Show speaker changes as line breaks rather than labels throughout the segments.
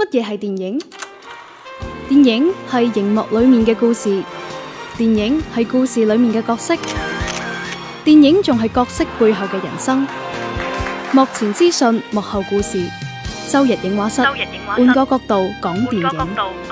乜嘢係電影？電影係熒幕裏面嘅故事，電影係故事裏面嘅角色，電影仲係角色背後嘅人生。幕前資訊，幕後故事。周日映畫室，換個角度講電影。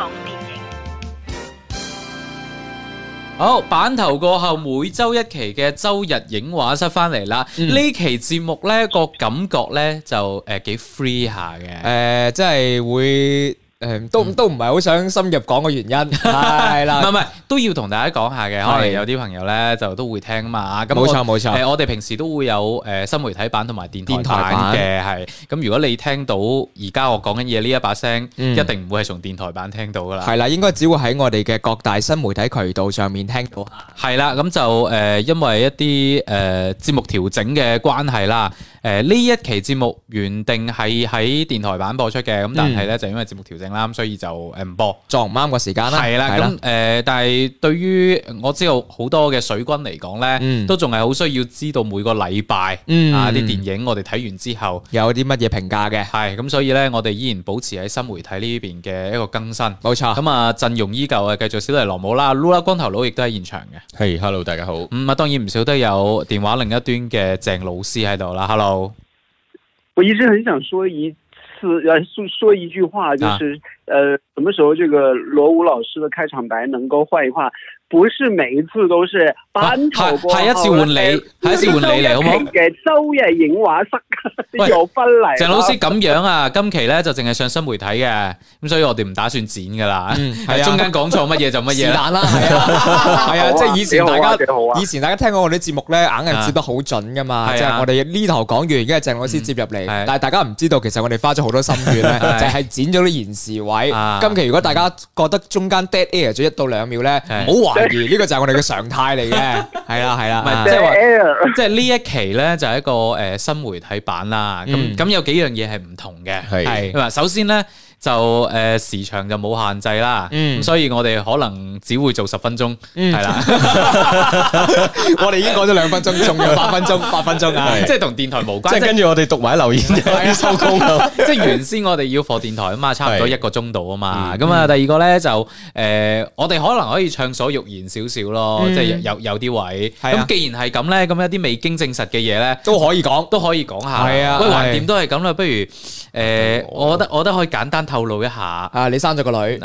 好，版頭過後每周一期嘅周日映畫室翻嚟啦。呢期節目呢個感覺呢就幾 free 下嘅，
即係會。都唔係好想深入講個原因，係啦，
唔係都要同大家講下嘅，可能有啲朋友咧就都會聽啊嘛。咁
冇錯，
我哋平時都會有新媒體版同埋電台版嘅，係咁。如果你聽到而家我講緊嘢呢一把聲，一定唔會係從電台版聽到噶啦。
係啦，應該只會喺我哋嘅各大新媒體渠道上面聽到。
係啦，咁就因為一啲節目調整嘅關係啦。呢一期節目原定係喺電台版播出嘅，咁但係咧就因為節目調整啦，咁所以就唔播，
撞唔啱個時間啦。
係啦，咁但係對於我知道好多嘅水軍嚟講咧，都仲係好需要知道每個禮拜啲電影我哋睇完之後
有啲乜嘢評價嘅。
係咁，所以咧我哋依然保持喺新媒體呢邊嘅一個更新。
冇錯。
咁啊陣容依舊啊，繼續小黎羅姆啦，Lula 光頭佬亦都喺現場嘅。
係，hello 大家好。
咁啊當然唔少得有電話另一端嘅鄭老師喺度啦 ，hello。
我一直很想說一句話，就是什麼時候這個羅武老師的開場白能夠換一換？不是每一次都是版頭過後，
下一次換你，下一次換你嚟好唔好？
嘅周日映畫室又翻嚟。
鄭老師咁樣啊，今期咧就淨係上新媒體嘅，咁所以我哋唔打算剪噶啦，係中間講錯乜嘢就乜嘢啦，
係啊，即係以前大家聽過我哋啲節目咧，硬係接得好準噶嘛，即係我哋呢頭講完，而家係鄭老師接入嚟，但係大家唔知道，其實我哋花咗好多心血咧，就係剪咗啲延時位。今期如果大家覺得中間 dead air 咗1到2秒咧，唔好懷疑，呢個就係我哋嘅常態嚟嘅，係啦，
即係話，即係呢一期咧就係一個新媒體版啦。咁有幾樣嘢係唔同嘅，係首先咧就時長就冇限制啦，所以我哋可能只會做10分鐘，係啦。
我哋已經講咗2分鐘，仲有8分鐘啊！
即係同電台無關，
即係跟住我哋讀埋留言就收工啦。
即係原先我哋要放電台啊嘛，差唔多1個鐘度啊嘛。咁啊，第二個咧就我哋可能可以暢所欲言少少咯，即係有啲位。咁既然係咁咧，咁一啲未經證實嘅嘢咧
都可以講下。
係啊，喂，橫掂都係咁啦，不如我覺得可以簡單透露一下
啊！你生咗個女，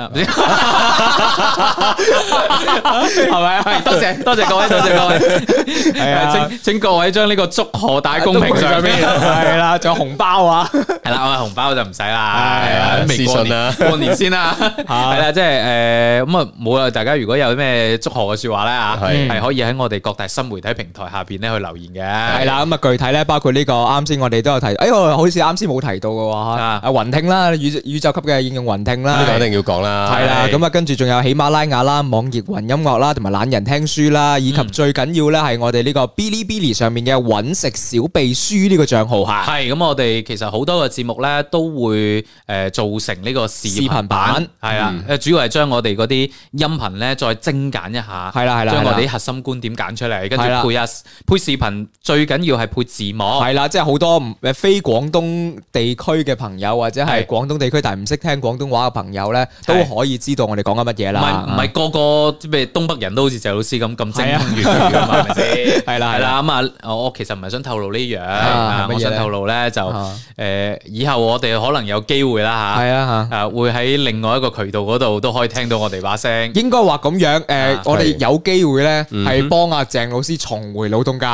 係咪啊？多謝各位，係啊！請各位將呢個祝賀帶公屏上面，
係啦，仲有紅包啊！
係啦，紅包就唔使啦，係啊，
私信啦，
過年先啦，係啦，即係咁啊，冇啊！大家如果有咩祝賀嘅說話咧啊，係可以喺我哋各大新媒體平台下邊咧去留言嘅。
係啦，咁啊，具體咧包括呢個啱先我哋都有提，我好似啱先冇提到嘅喎，雲聽啦，宇宙級嘅應用雲聽啦，
呢個一定要講啦。
係啦，咁啊，跟住仲有喜馬拉雅啦、網易雲音樂啦，同埋懶人聽書啦，以及最緊要咧係我哋呢個 Bilibili 上面嘅揾食小秘書呢個賬號嚇。
係咁，我哋其實好多個節目咧都會做成呢個視頻版，係啦，主要係將我哋嗰啲音頻咧再精簡一下，
係啦，
將我哋啲核心觀點揀出嚟，跟住配視頻，最緊要係配字幕，
係啦，即係好多非廣東地區嘅朋友或者係廣東地區但係唔識聽廣東話嘅朋友咧，都可以知道我哋講緊乜嘢啦。
唔係個個咩東北人都好似謝老師咁精通粵語㗎嘛，係咪先？係啦，咁啊，我其實唔係想透露呢樣，我想透露咧就以後我哋可能有機會啦嚇，會喺另外一個渠道嗰度都可以聽到我哋把聲。應
該話咁樣，我哋有機會咧係幫阿鄭老師重回老東家。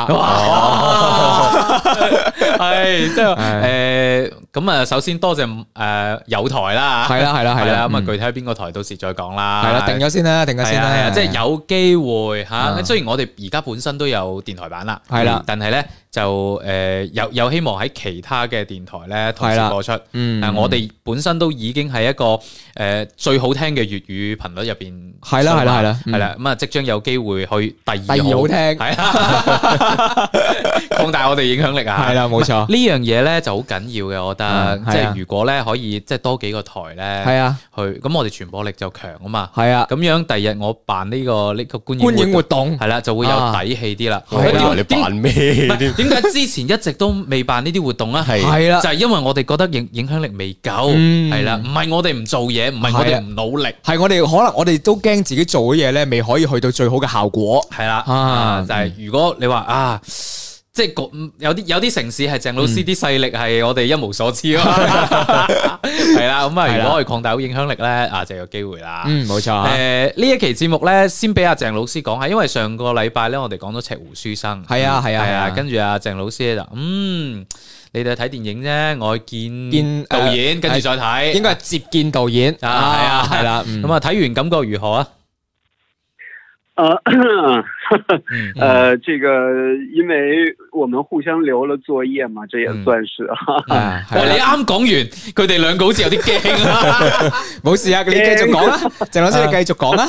係即係咁啊！首先多謝有台啦，
係啦，
咁啊具體喺邊個台到時再講啦。
係啦，定咗先啦，
即係有機會嚇。雖然我哋而家本身都有電台版啦，係啦，但係咧就有希望喺其他嘅電台咧同時播出。我哋本身都已經係一個最好聽嘅粵語頻率入邊，係啦，咁啊即將有機會去第二
好聽，
係啊，擴大我哋影響力啊！
係啦，冇錯。
呢樣嘢咧就好緊要嘅，我覺得，即係如果咧可以即係多幾幾個台咧，
係啊，
去咁我哋傳播力就強啊嘛，
係啊，
咁樣第日我辦呢個觀
影活動
係啦，就會有底氣啲啦。
你辦咩？
點解之前一直都未辦呢啲活動咧？
係啦，
就係因為我哋覺得影響力未夠，係啦，唔係我哋唔做嘢，唔係我哋唔努力，
係我哋可能我哋都驚自己做嘅嘢咧，未可以去到最好嘅效果。
係啦，就係如果你話啊。即係有啲城市係鄭老師啲勢力係我哋一無所知咯，係啦，咁啊，如果可以擴大好影響力咧，啊就有機會啦。
冇錯。
呢一期節目咧，先俾阿鄭老師講下，因為上個禮拜咧，我哋講咗赤湖書生，
係啊，
跟住阿鄭老師咧就你哋睇電影啫，我見導演，跟住再睇，
應該係接見導演
啊，係啦，咁啊睇完感覺如何啊？
這個因為我們互相留了作業嘛，這也算是啊。
你啱講完，佢哋兩個好似有啲驚啊。
冇事啊，你繼續講啦，鄭老師你繼續講啦。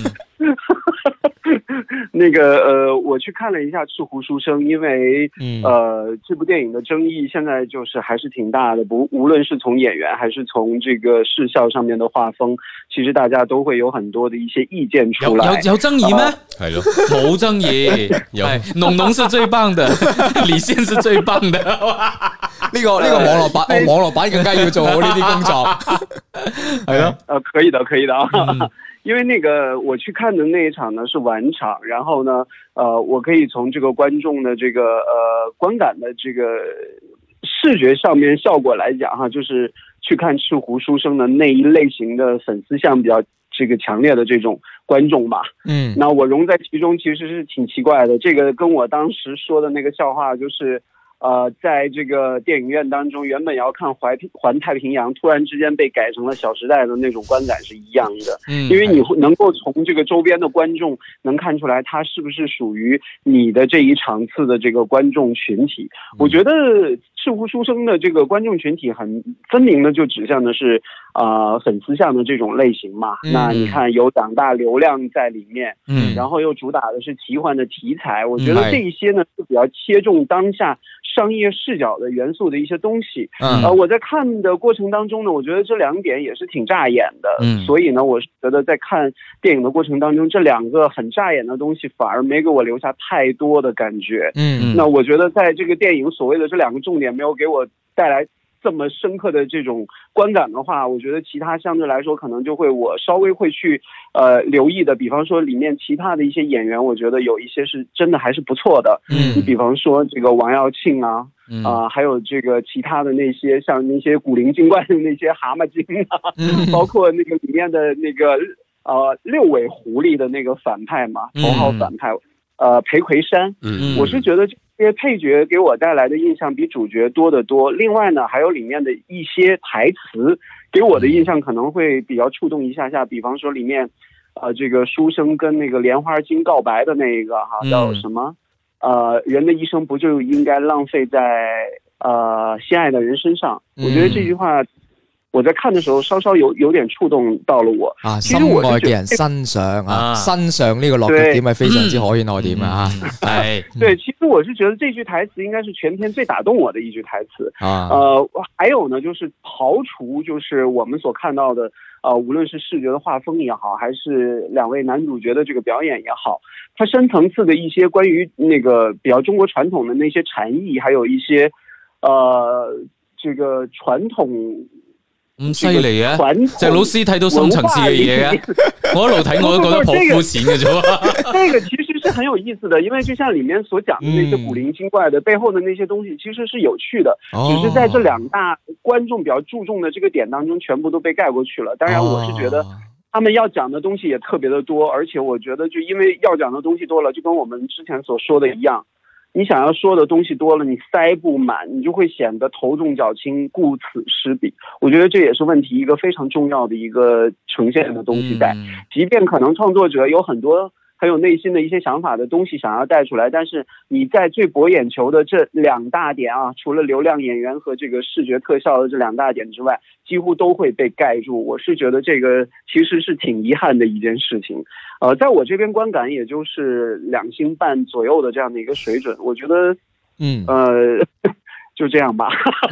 那個我去看了一下《赤湖書生》，因為這部電影的爭議現在就是還是挺大的，無論是從演員還是從這個視效上面的畫風，其實大家都會有很多的一些意見出來。
有爭議咩？
係咯，
冇爭議。農農是最棒的，李現是最棒的。
呢個網絡版更加要做好呢啲工作。係咯，
可以的啊。因為那個我去看的那一場呢是晚場，然後呢，我可以從這個觀眾的這個觀感的這個視覺上面效果來講哈，就是去看赤湖書生的那一類型的粉絲向比較這個強烈的這種觀眾吧。那我融在其中其實是挺奇怪的，這個跟我當時說的那個笑話就是。在這個電影院當中，原本要看環太平洋，突然之間被改成了小時代的那種觀感是一樣的。因為你能夠從這個周邊的觀眾能看出來，他是不是屬於你的這一場次的這個觀眾群體。我覺得赤湖書生的這個觀眾群體很分明的就指向的是粉絲向的這種類型嘛。那你看有長大流量在裡面，然後又主打的是奇幻的題材，我覺得這一些呢是比較切中當下商業視角的元素的一些東西。我在看的過程當中呢，我覺得這兩點也是挺扎眼的。所以呢，我是覺得在看電影的過程當中，這兩個很扎眼的東西反而沒給我留下太多的感覺。那我覺得在這個電影所謂的這兩個重點沒有給我帶來這麼深刻的這種觀感的話，我覺得其他相對來說可能就會我稍微會去留意的，比方說裡面其他的一些演員，我覺得有一些是真的還是不錯的。你比方說這個王耀慶啊，還有這個其他的那些像那些古靈精怪的那些蛤蟆精啊，包括那個裡面的那個六尾狐狸的那個反派嘛，頭號反派裴魁山。我是覺得這些配角給我帶來的印象比主角多得多。另外呢，還有裡面的一些台詞給我的印象可能會比較觸動一下下。比方說裡面這個書生跟那個蓮花精告白的那個哈，叫什麼？人的一生不就應該浪費在心愛的人身上？我覺得這句話我在看的時候稍稍有點觸動到了我。
心愛嘅人身上身上呢個落腳點係非常之可圈可點啊！
對，其實我是覺得這句台詞應該是全片最打動我的一句台詞。還有呢，就是刨除就是我們所看到的，無論是視覺的畫風也好，還是兩位男主角的這個表演也好，它深層次的一些關於那個比較中國傳統的那些禪意，還有一些這個傳統。
咁犀利啊！鄭老師睇到深層次嘅嘢啊！我一路睇我都覺得好膚淺嘅啫。
這個其實是很有意思的，因為就像裡面所講的那些古靈精怪的背後的那些東西，其實是有趣的，只是在這兩大觀眾比較注重的這個點當中，全部都被蓋過去了。當然，我是覺得他們要講的東西也特別的多，而且我覺得就因為要講的東西多了，就跟我們之前所說的一樣。你想要說的東西多了，你塞不滿，你就會顯得頭重腳輕，顧此失彼。我覺得這也是問題一個非常重要的一個呈現的東西在。即便可能創作者有很多很有內心的一些想法的東西想要帶出來，但是你在最博眼球的這兩大點啊，除了流量演員和這個視覺特效的這兩大點之外，幾乎都會被蓋住。我是覺得這個其實是挺遺憾的一件事情。在我這邊觀感也就是2星半左右的這樣的一個水準，我覺得， 就這樣吧。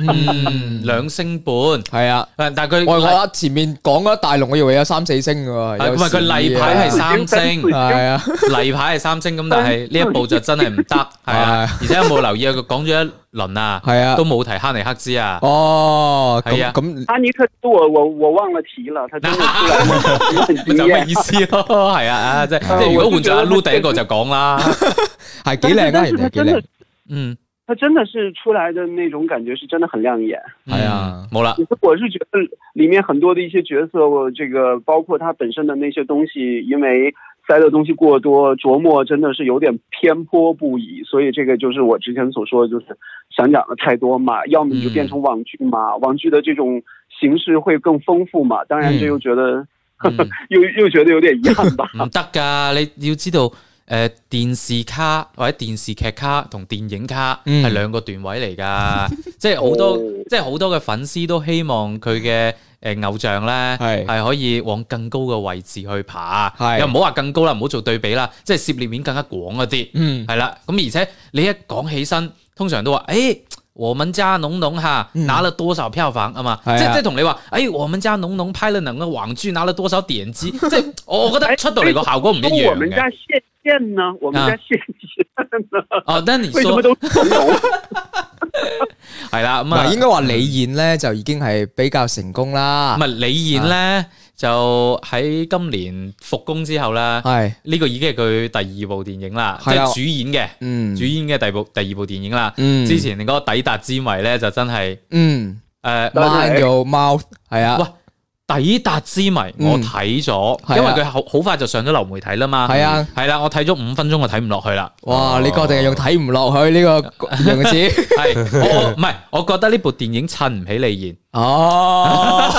2星半，
係啊，
但係佢
我覺得前面講嗰一大龍，我以為有3-4星嘅喎，
唔係佢例牌係3星，
係啊，
例牌係3星咁，但係呢一部就真係唔得，係啊，而且有冇留意啊？佢講咗一輪啊，係啊，都冇提哈尼克斯啊。
哦，
係啊，
咁
哈尼克斯我忘了提了，他真的出來很驚
就咩意思咯？係啊，即係如果換咗阿 Lu 第一個就講啦，
係幾靚啊，人哋幾靚，
他真的是出來的那種感覺是真的很亮眼。
係啊，
冇啦。
我是覺得裏面很多的一些角色，這個包括他本身的那些東西，因為塞的東西過多，琢磨真的是有點偏頗不已。所以這個就是我之前所說的，就是想講的太多嘛，要麼你就變成網劇嘛，網劇的這種形式會更豐富嘛。當然，這又覺得又覺得有點遺憾吧。
唔得㗎，你要知道。電視卡或者電視劇卡同電影卡係兩個段位嚟㗎，即係好多嘅粉絲都希望佢嘅偶像咧係可以往更高嘅位置去爬，又唔好話更高啦，唔好做對比啦，即係涉獵面更加廣嗰啲，係啦。咁而且你一講起身，通常都話我們家農農拿了多少票房啊嘛，即係同你話，我們家農農拍了哪個網劇拿了多少點擊，即係我覺得出到嚟個效果唔一樣嘅。
我們家線呢？我們家線呢？
哦，但你說
為什麼都成龍？
係啦，咁啊，
應該話李現咧就已經係比較成功啦。
唔係李現咧就喺今年復工之後咧，係呢個已經係佢第2部電影啦，即係主演嘅，主演嘅第二部電影啦。之前嗰個抵達之謎咧就真係
Man Your Mouth 係啊。
抵達之謎我睇咗，因為佢好快就上咗流媒體啦嘛。係啊，係啦，我睇咗5分鐘，我睇唔落去啦。
哇！你確定係用睇唔落去呢個形容詞？
係我唔係，我覺得呢部電影襯唔起李現。
哦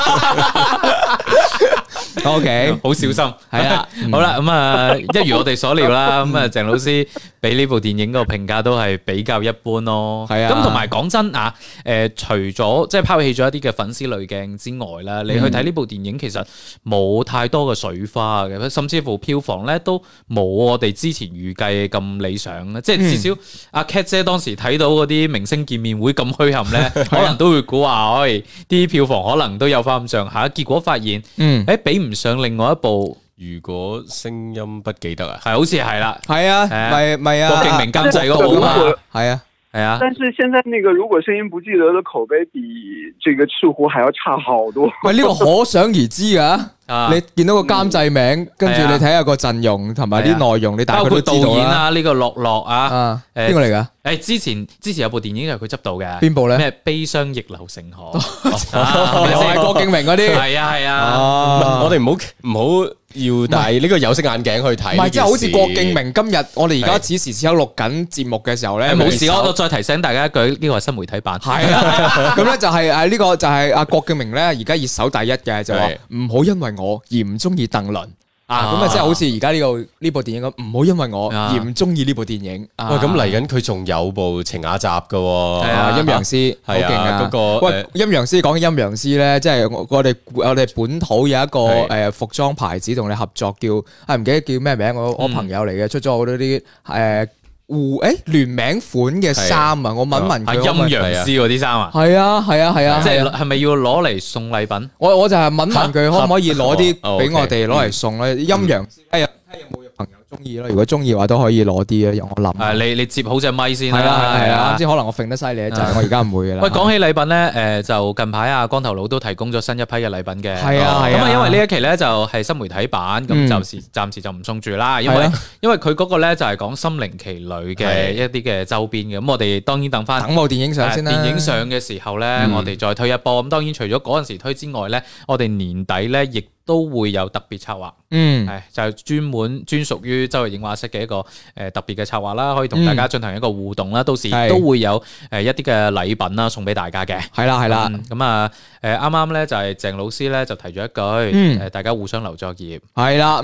，OK，
好小心。係啦，好啦，咁啊，一如我哋所料啦，咁啊，鄭老師俾呢部電影個評價都係比較一般咯。係啊，咁同埋講真啊，除咗即係拋棄咗一啲嘅粉絲濾鏡之外啦，你去睇呢部電影其實冇太多嘅水花嘅，甚至乎票房咧都冇我哋之前預計咁理想啦。即係至少阿 Cat 姐當時睇到嗰啲明星見面會咁墟冚咧，可能都會估話，啲票房可能都有翻咁上下。結果發現，比唔上另外一部。
如果聲音不記得啊，
係好似係啦，
係啊，咪啊，
郭敬明監製嗰部啊，
係啊。係啊，
但是現在那個如果聲音不記得的口碑比這個赤狐還要差好多。
喂，呢個可想而知噶。你見到個監製名，跟住你睇下個陣容同埋啲內容，你大概都知道啦。包括導演啊，呢個樂樂啊，邊個嚟噶？之前有部電影係佢執導嘅，邊部咧？咩悲傷逆流成河，又係郭敬明嗰啲。
係啊，
我哋唔好要戴呢個有色眼鏡去睇。
唔係，即係好似郭敬明今日我哋而家此時此刻錄緊節目嘅時候咧，
冇事，我再提醒大家一句，呢個係新媒體版。
係啊，咁咧就係呢個就係阿郭敬明咧，而家熱搜第一嘅就話唔好因為我而唔中意鄧倫啊，咁啊即係好似而家呢部電影咁，唔好因為我而唔中意呢部電影。
喂，咁嚟緊佢仲有部晴雅集噶，
係啊，陰陽師好勁啊！嗰個喂，陰陽師講緊陰陽師咧，即係我哋本土有一個服裝牌子同你合作，叫唔記得叫咩名，我朋友嚟嘅，出咗好多啲聯名款嘅衫啊！我問佢
陰陽師嗰啲衫啊，
係啊，
即係咪要攞嚟送禮品？
我就係問佢可唔可以攞啲俾我哋攞嚟送咧？陰陽師有冇朋友中意咯？如果中意嘅話，都可以攞啲啊！由我諗。你接好隻咪先啦。係啊，啱先可能我揈得犀利就係我而家唔會嘅啦。喂，
講起禮品咧，就近排啊光頭佬都提供咗新一批嘅禮品嘅。
係啊，
咁啊，因為呢一期咧就係新媒體版，咁暫時就唔送住啦。因為佢嗰個咧就係講心靈奇旅嘅一啲嘅周邊嘅。咁我哋當然等部
電影上先啦。
電影上嘅時候咧，我哋再推一波。咁當然除咗嗰陣時推之外咧，我哋年底咧亦都會有特別策劃，係就係專屬於周日映畫室嘅一個特別嘅策劃啦，可以同大家進行一個互動啦。到時都會有一啲嘅禮品啦送俾大家嘅。係啦，咁啊啱啱咧就係鄭老師咧就提咗一句，大家互相留作業。係啦，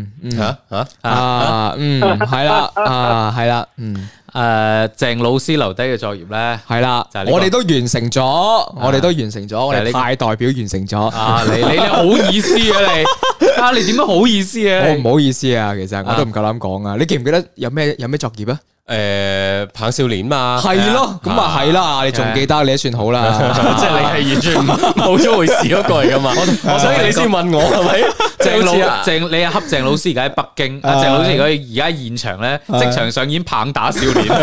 係啦，鄭老師留低嘅作業咧，係啦，我哋都完成咗，我哋派代表完成咗。 你好意思啊你點樣好意思啊？
我唔好意思啊，其實我都唔夠膽講啊。你記唔記得有咩作業啊？
棒少年嘛，
係咯，咁啊係啦，你仲記得你都算好啦，
即係你係完全冇咗回事嗰個嚟噶嘛，所以你先問我係咪？
鄭你係恰鄭老師而家喺北京，鄭老師而家現場咧即場上演棒打少年。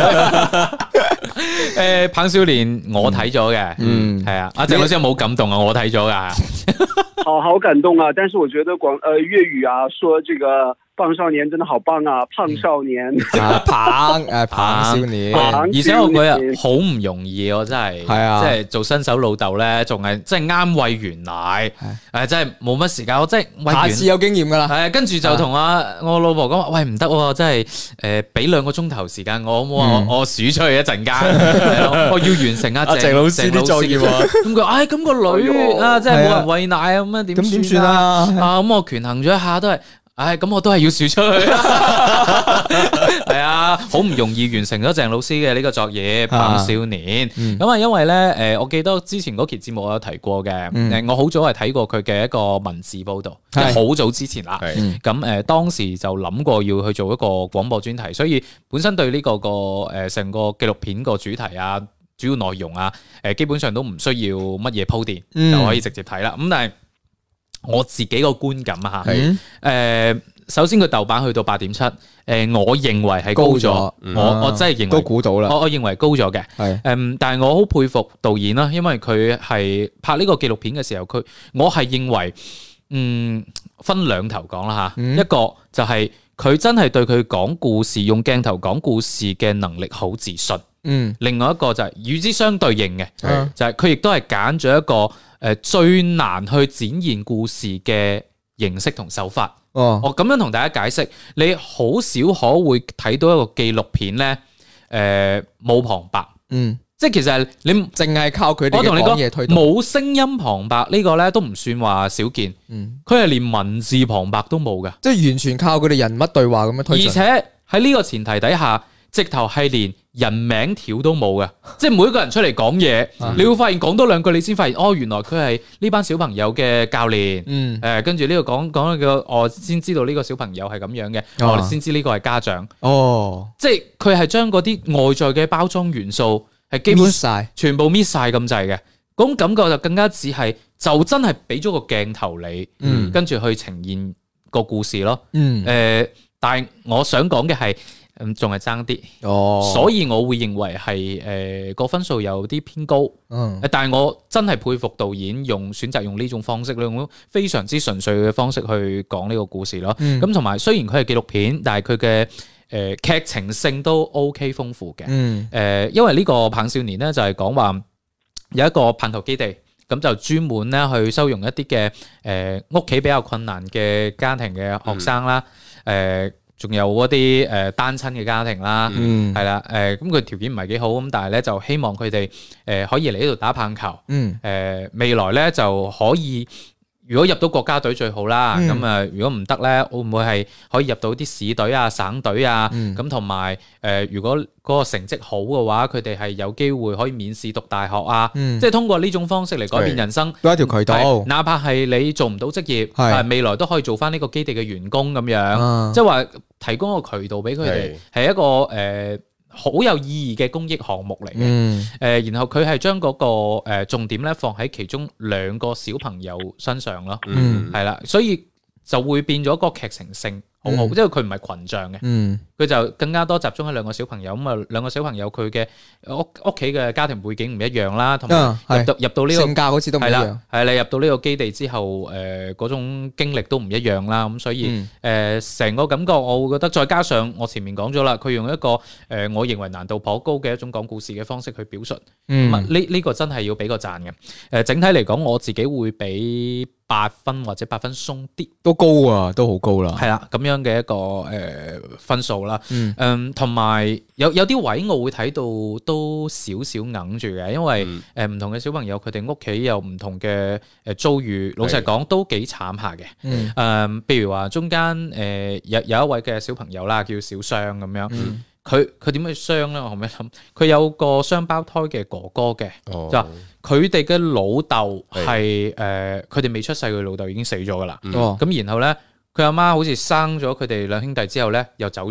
棒少年我睇咗嘅，係啊，阿鄭老師有冇感動啊？我睇咗噶，
好感動啊！但是我覺得粵語啊，說這個棒少年真的好棒啊，胖少年，
棒少年，
而且我覺得好唔容易，我真係，即係做新手老豆咧，仲係即係啱餵完奶，真係冇乜時間，我真係餵完，
下次有經驗噶啦，
係跟住就同我老婆講話，喂唔得，真係俾2個鐘頭時間我，我數出去一陣間，我要完成阿鄭老師啲作業，咁佢，咁個女啊，真係冇人餵奶啊，咁樣點算啊？咁我權衡咗一下都係。咁我都係要數出去，係啊，好唔容易完成咗鄭老師嘅呢個作業《棒少年》。咁啊，因為咧，我記得之前嗰期節目我有提過嘅，我好早係睇過佢嘅一個文字報道，好早之前啦。咁當時就諗過要去做一個廣播專題，所以本身對呢個成個紀錄片個主題啊、主要內容啊，基本上都唔需要乜嘢鋪墊就可以直接睇啦。咁但係我自己個觀感啊嚇，首先佢豆瓣去到8.7，我認為係高咗，我真係認為
都估到啦，
我認為高咗嘅，但係我好佩服導演啦，因為佢係拍呢個紀錄片嘅時候，我係認為，分兩頭講啦嚇，一個就係佢真係對佢講故事、用鏡頭講故事嘅能力好自信，另外一個就係與之相對應嘅，就係佢亦都係揀咗一個最難去展現故事嘅形式同手法。我咁樣同大家解釋，你好少可會睇到一個紀錄片咧，冇旁白，即係其實你
淨係靠佢哋嘅講嘢推動，
冇聲音旁白呢個咧都唔算話少見，佢係連文字旁白都冇嘅，
即係完全靠佢哋人物對話咁樣推進，
而且喺呢個前提底下，直頭係連人名條都冇嘅，即係每一個人出嚟講嘢，你會發現講多兩句，你先發現原來佢係呢班小朋友嘅教練，跟住呢個講我先知道呢個小朋友係咁樣嘅，我哋先知呢個係家長，即係佢係將嗰啲外在嘅包裝元素係基本晒，全部搣晒咁滯嘅，嗰種感覺就更加似係就真係俾咗個鏡頭你，跟住去呈現個故事咯，但係我想講嘅係。仲係爭啲，所以我會認為係個分數有啲偏高，但係我真係佩服導演選擇用呢種方式，用非常之純粹嘅方式去講呢個故事咯。咁同埋雖然佢係紀錄片，但係佢嘅劇情性都 OK 豐富嘅。因為呢個棒少年咧就係講話有一個叛徒基地，咁就專門咧去收容一啲嘅屋企比較困難嘅家庭嘅學生啦，仲有嗰啲單親嘅家庭啦，係啦，咁佢條件唔係幾好，咁但係咧就希望佢哋可以嚟呢度打棒球，未來咧就可以，如果入到國家隊最好啦，咁啊如果唔得咧，會唔會係可以入到啲市隊啊、省隊啊？咁同埋如果嗰個成績好嘅話，佢哋係有機會可以免試讀大學啊！即係通過呢種方式嚟改變人生，
都係一條渠道。哪
怕係你做唔到職業，未來都可以做翻呢個基地嘅員工咁樣，即係話提供一個渠道俾佢哋，係一個好有意義嘅公益項目嚟嘅。然後佢係將嗰個重點咧放喺其中2個小朋友身上咯，係啦，所以就會變咗個劇情性好好，因為佢唔係群像嘅，佢就更加多集中喺2個小朋友。咁啊，2個小朋友佢嘅屋企嘅家庭背景唔一樣啦，同埋入到呢個性格好似都唔一樣。係你入到呢個基地之後，嗰種經歷都唔一樣啦。咁所以成個感覺，我會覺得再加上我前面講咗啦，佢用一個我認為難度頗高嘅一種講故事嘅方式去表述，呢個真係要俾個讚嘅。整體嚟講，我自己會俾8分或者8分鬆啲，
都高啊，都好高啦。
係啦，咁樣嘅一個分數啦。同埋有啲位我會睇到都少少硬住嘅，因為唔同嘅小朋友佢哋屋企有唔同嘅遭遇，老實講都幾慘下嘅。譬如話中間有一位嘅小朋友啦，叫小雙咁樣。佢點去傷咧？我後尾諗，佢有個雙胞胎嘅哥哥嘅，就佢哋嘅老豆係佢哋未出世，佢老豆已經死咗噶啦。咁然後咧，佢阿媽好似生咗佢哋2兄弟之後咧，又走咗。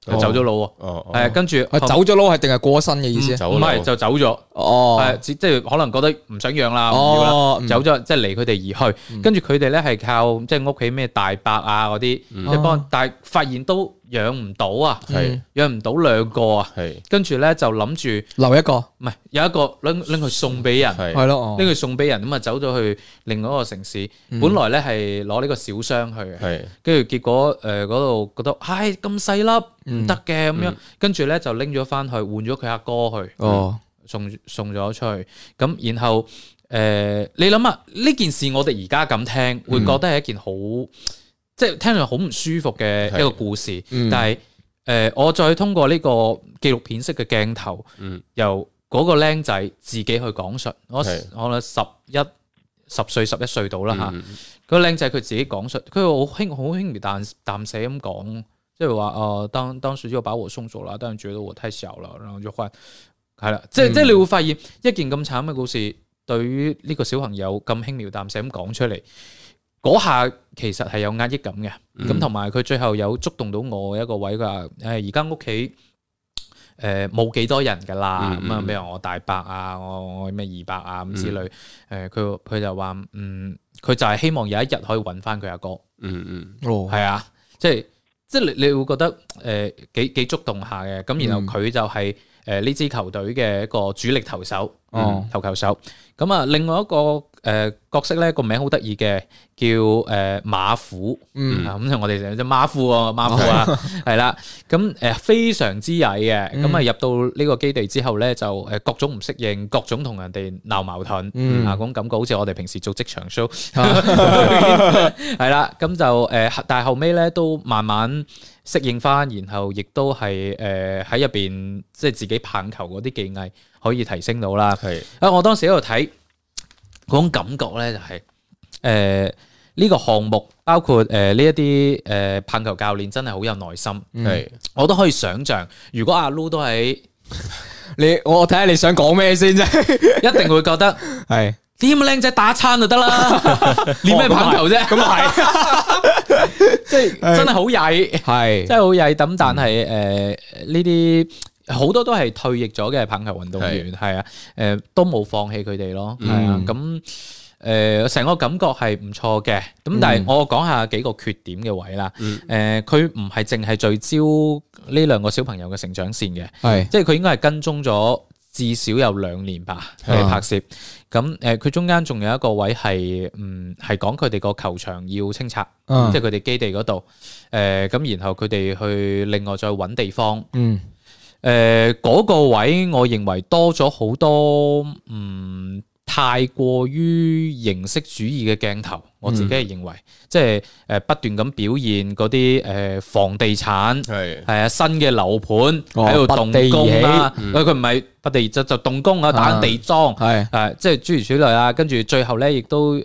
走咗佬喎。跟住
走咗佬係定係過身嘅意思？
唔係就走咗。即係可能覺得唔想養啦，唔要啦，走咗，即係離佢哋而去。跟住佢哋咧係靠即係屋企咩大伯啊嗰啲，即係幫，但係發現都養唔到啊，養唔到2個啊。跟住咧就諗住
留一個，
唔係有一個拎去送俾人，
係咯，
拎去送俾人，咁啊走咗去另外一個城市。本來咧係攞呢個小箱去嘅，跟住結果嗰度覺得唉咁細粒唔得嘅咁樣，跟住咧就拎咗翻去換咗佢阿哥去，送咗出去。咁然後你諗下呢件事，我哋而家咁聽會覺得係一件好即係聽落好唔舒服嘅一個故事，但係我再通過呢個紀錄片式嘅鏡頭，由嗰個僆仔自己去講述，我10歲11歲到啦嚇，嗰個僆仔佢自己講述，佢好輕描淡寫咁講，即係話當時就把我送走了，但係覺得我太小了，然後就換，係啦，即係你會發現一件咁慘嘅故事，對於呢個小朋友咁輕描淡寫咁講出嚟，嗰下其實係有壓抑感嘅，咁同埋佢最後有觸動到我一個位㗎，而家屋企冇幾多人㗎啦，咁啊，比如我大伯啊，我咩二伯啊咁之類，佢就話佢就係希望有一日可以揾翻佢阿哥，係啊，即係你會覺得幾觸動下嘅，咁然後佢就係呢支球隊嘅一個主力投手，投球手。咁啊，另外一個角色咧，個名好得意嘅，叫馬虎，咁我哋成日隻馬虎啊，係啦，咁非常之曳嘅，咁啊入到呢個基地之後咧，就各種唔適應，各種同人哋鬧矛盾，嗰種感覺好似我哋平時做職場 show，係啦，咁就但係後尾咧都慢慢適應翻，然後亦都係喺入邊即係自己棒球嗰啲技藝可以提升到啦。係我當時喺度睇嗰種感覺咧，就係呢個項目包括呢一啲棒球教練真係好有耐心。係我都可以想像，如果阿 Lu 都喺
我睇下你想講咩先啫，
一定會覺得係啲咁嘅靚仔打餐就得啦，練咩棒球啫？咁啊係，即係真係好曳，係真係好曳。咁但係呢啲好多都係退役咗嘅棒球運動員，係啊，都冇放棄佢哋咯，係啊。咁成個感覺係唔錯嘅。咁但係我講下幾個缺點嘅位啦。佢唔係淨係聚焦呢2個小朋友嘅成長線嘅，係即係佢應該係跟蹤咗至少有2年吧嘅拍攝。咁佢中間仲有一個位係係講佢哋個球場要清拆，即係佢哋基地嗰度。咁然後佢哋去另外再揾地方。嗰個位我認為多咗好多太過於形式主義嘅鏡頭，我自己係認為，即係不斷咁表現嗰啲房地產係啊新嘅樓盤喺度動工啦，佢唔係不地就動工啊，打緊地樁係即係諸如此類啦。跟住最後咧，亦都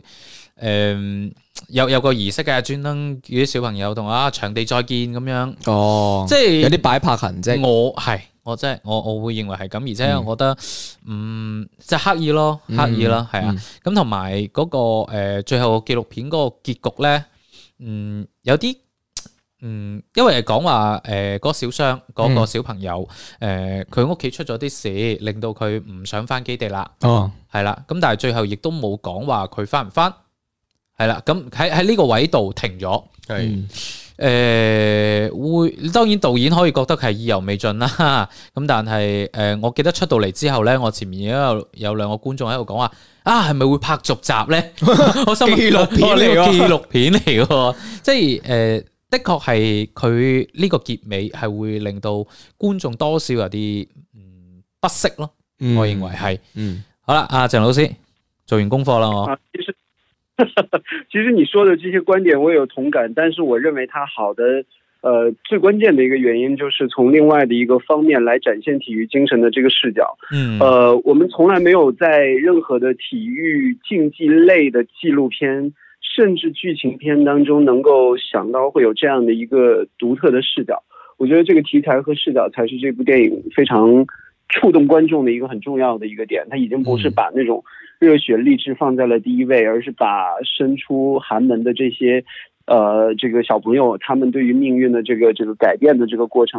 有個儀式嘅，專登叫啲小朋友同場地再見咁樣。即係
有啲擺拍痕跡。
我真係我會認為係咁，而且我覺得即係刻意咯，係啊。咁同埋嗰個最後紀錄片嗰個結局咧，有啲因為係講話嗰個小商嗰個小朋友佢屋企出咗啲事，令到佢唔想翻基地啦。係啦。咁但係最後亦都冇講話佢翻唔翻。係啦。咁喺呢個位度停咗。當然導演可以覺得係意猶未盡啦，咁但係我記得出到嚟之後咧，我前面有2個觀眾喺度講話係咪會拍續集咧？我心紀錄片嚟嘅，即係的確係佢呢個結尾係會令到觀眾多少有啲不適咯，我認為係。好啦，阿鄭老師做完功課啦，我。
其實你說的這些觀點我也有同感，但是我認為它好的最關鍵的一個原因就是從另外的一個方面來展現體育精神的這個視角。我們從來沒有在任何的體育競技類的紀錄片甚至劇情片當中能夠想到會有這樣的一個獨特的視角。我覺得這個題材和視角才是這部電影非常觸動觀眾的一個很重要的一個點。它已經不是把那種熱血勵志放在了第一位，而是把身出寒門的這些這個小朋友他們對於命運的這個改變的這個過程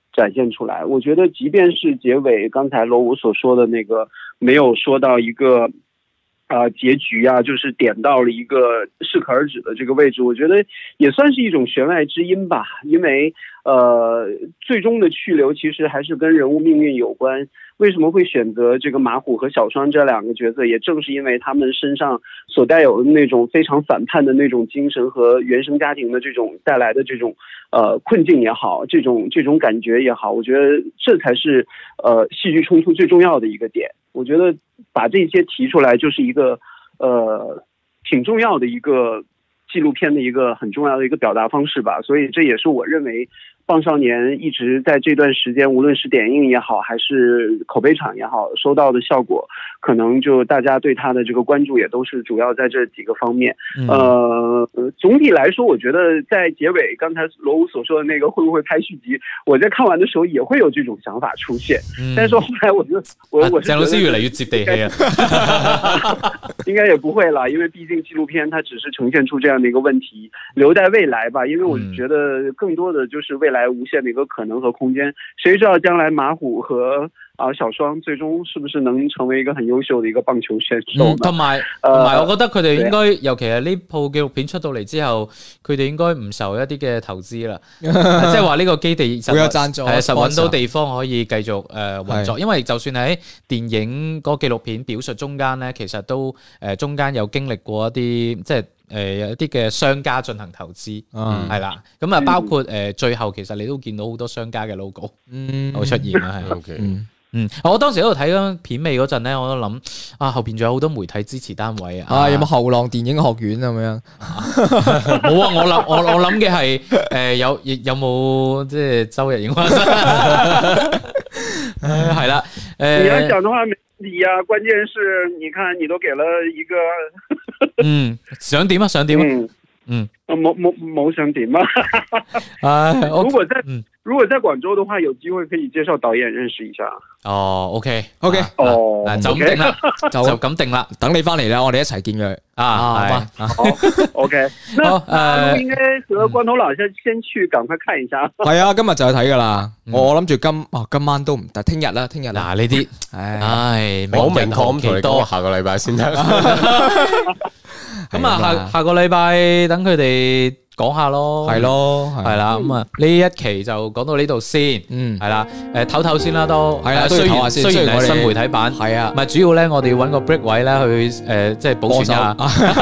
展现出来。我觉得即便是结尾刚才罗武所说的那个没有说到一个结局啊，就是点到了一个适可而止的这个位置，我觉得也算是一种弦外之音吧。因为最终的去留其实还是跟人物命运有关。为什么会选择这个马虎和小双这两个角色，也正是因为他们身上所带有的那种非常反叛的那种精神和原生家庭的这种带来的这种困境也好，这种感觉也好，我觉得这才是戏剧冲突最重要的一个点。我觉得把这些提出来就是一个挺重要的一个纪录片的一个很重要的一个表达方式吧。所以这也是我认为棒少年一直在这段时间，无论是点映也好，还是口碑场也好，收到的效果，可能就大家对他的这个关注也都是主要在这几个方面。总体来说，我觉得在结尾，刚才罗武所说的那个会不会拍续集，我在看完的时候也会有这种想法出现。但是后来我是
鄭老師越嚟越接地氣啊，
應該也不會啦，因為畢竟紀錄片它只是呈現出這樣的一個問題，留待未來吧。因為我覺得更多的就是未來無限的一個可能和空間，誰知道將來馬虎和小雙最終是不是能成為一個很優秀的一個棒球選手呢？
同埋我覺得佢哋應該，尤其係呢部紀錄片出到嚟之後，佢哋應該唔受一啲嘅投資啦，即係話呢個基地實有贊助，實揾到地方可以繼續運作。因為就算喺電影嗰個紀錄片表述中間咧，其實都中間有經歷過一啲即係有一啲嘅商家進行投資，係啦，咁啊包括最後其實你都見到好多商家嘅 logo 會出現啦，係。我當時喺度睇緊片尾嗰陣咧，我都諗後邊仲有好多媒體支持單位
有冇後浪電影學院咁樣？
冇啊！我諗嘅係有冇即係周日映畫室？係啦，
你要講的話沒問題啊，關鍵是你看你都給了一個
想點啊？
冇想點啊！如果在廣州的話，有機會可以介紹導演認識一下。
OK，
就
咁定啦，就咁定啦，
等你翻嚟啦，我哋一齊見佢
好 OK， 那應該和光頭佬先去趕快看一下。係
啊，今日就去睇噶啦。我諗住今晚都唔得，聽日啦。嗱
呢啲，
好明確咁同你講，下個禮拜先得。
咁啊，下個禮拜等佢哋講下咯，係啦，咁啊呢一期就講到呢度先，係啦，唞先啦都，係啦，雖然係新媒體版，係啊，唔係主要咧，我哋要揾個 break 位咧去即係保存一下，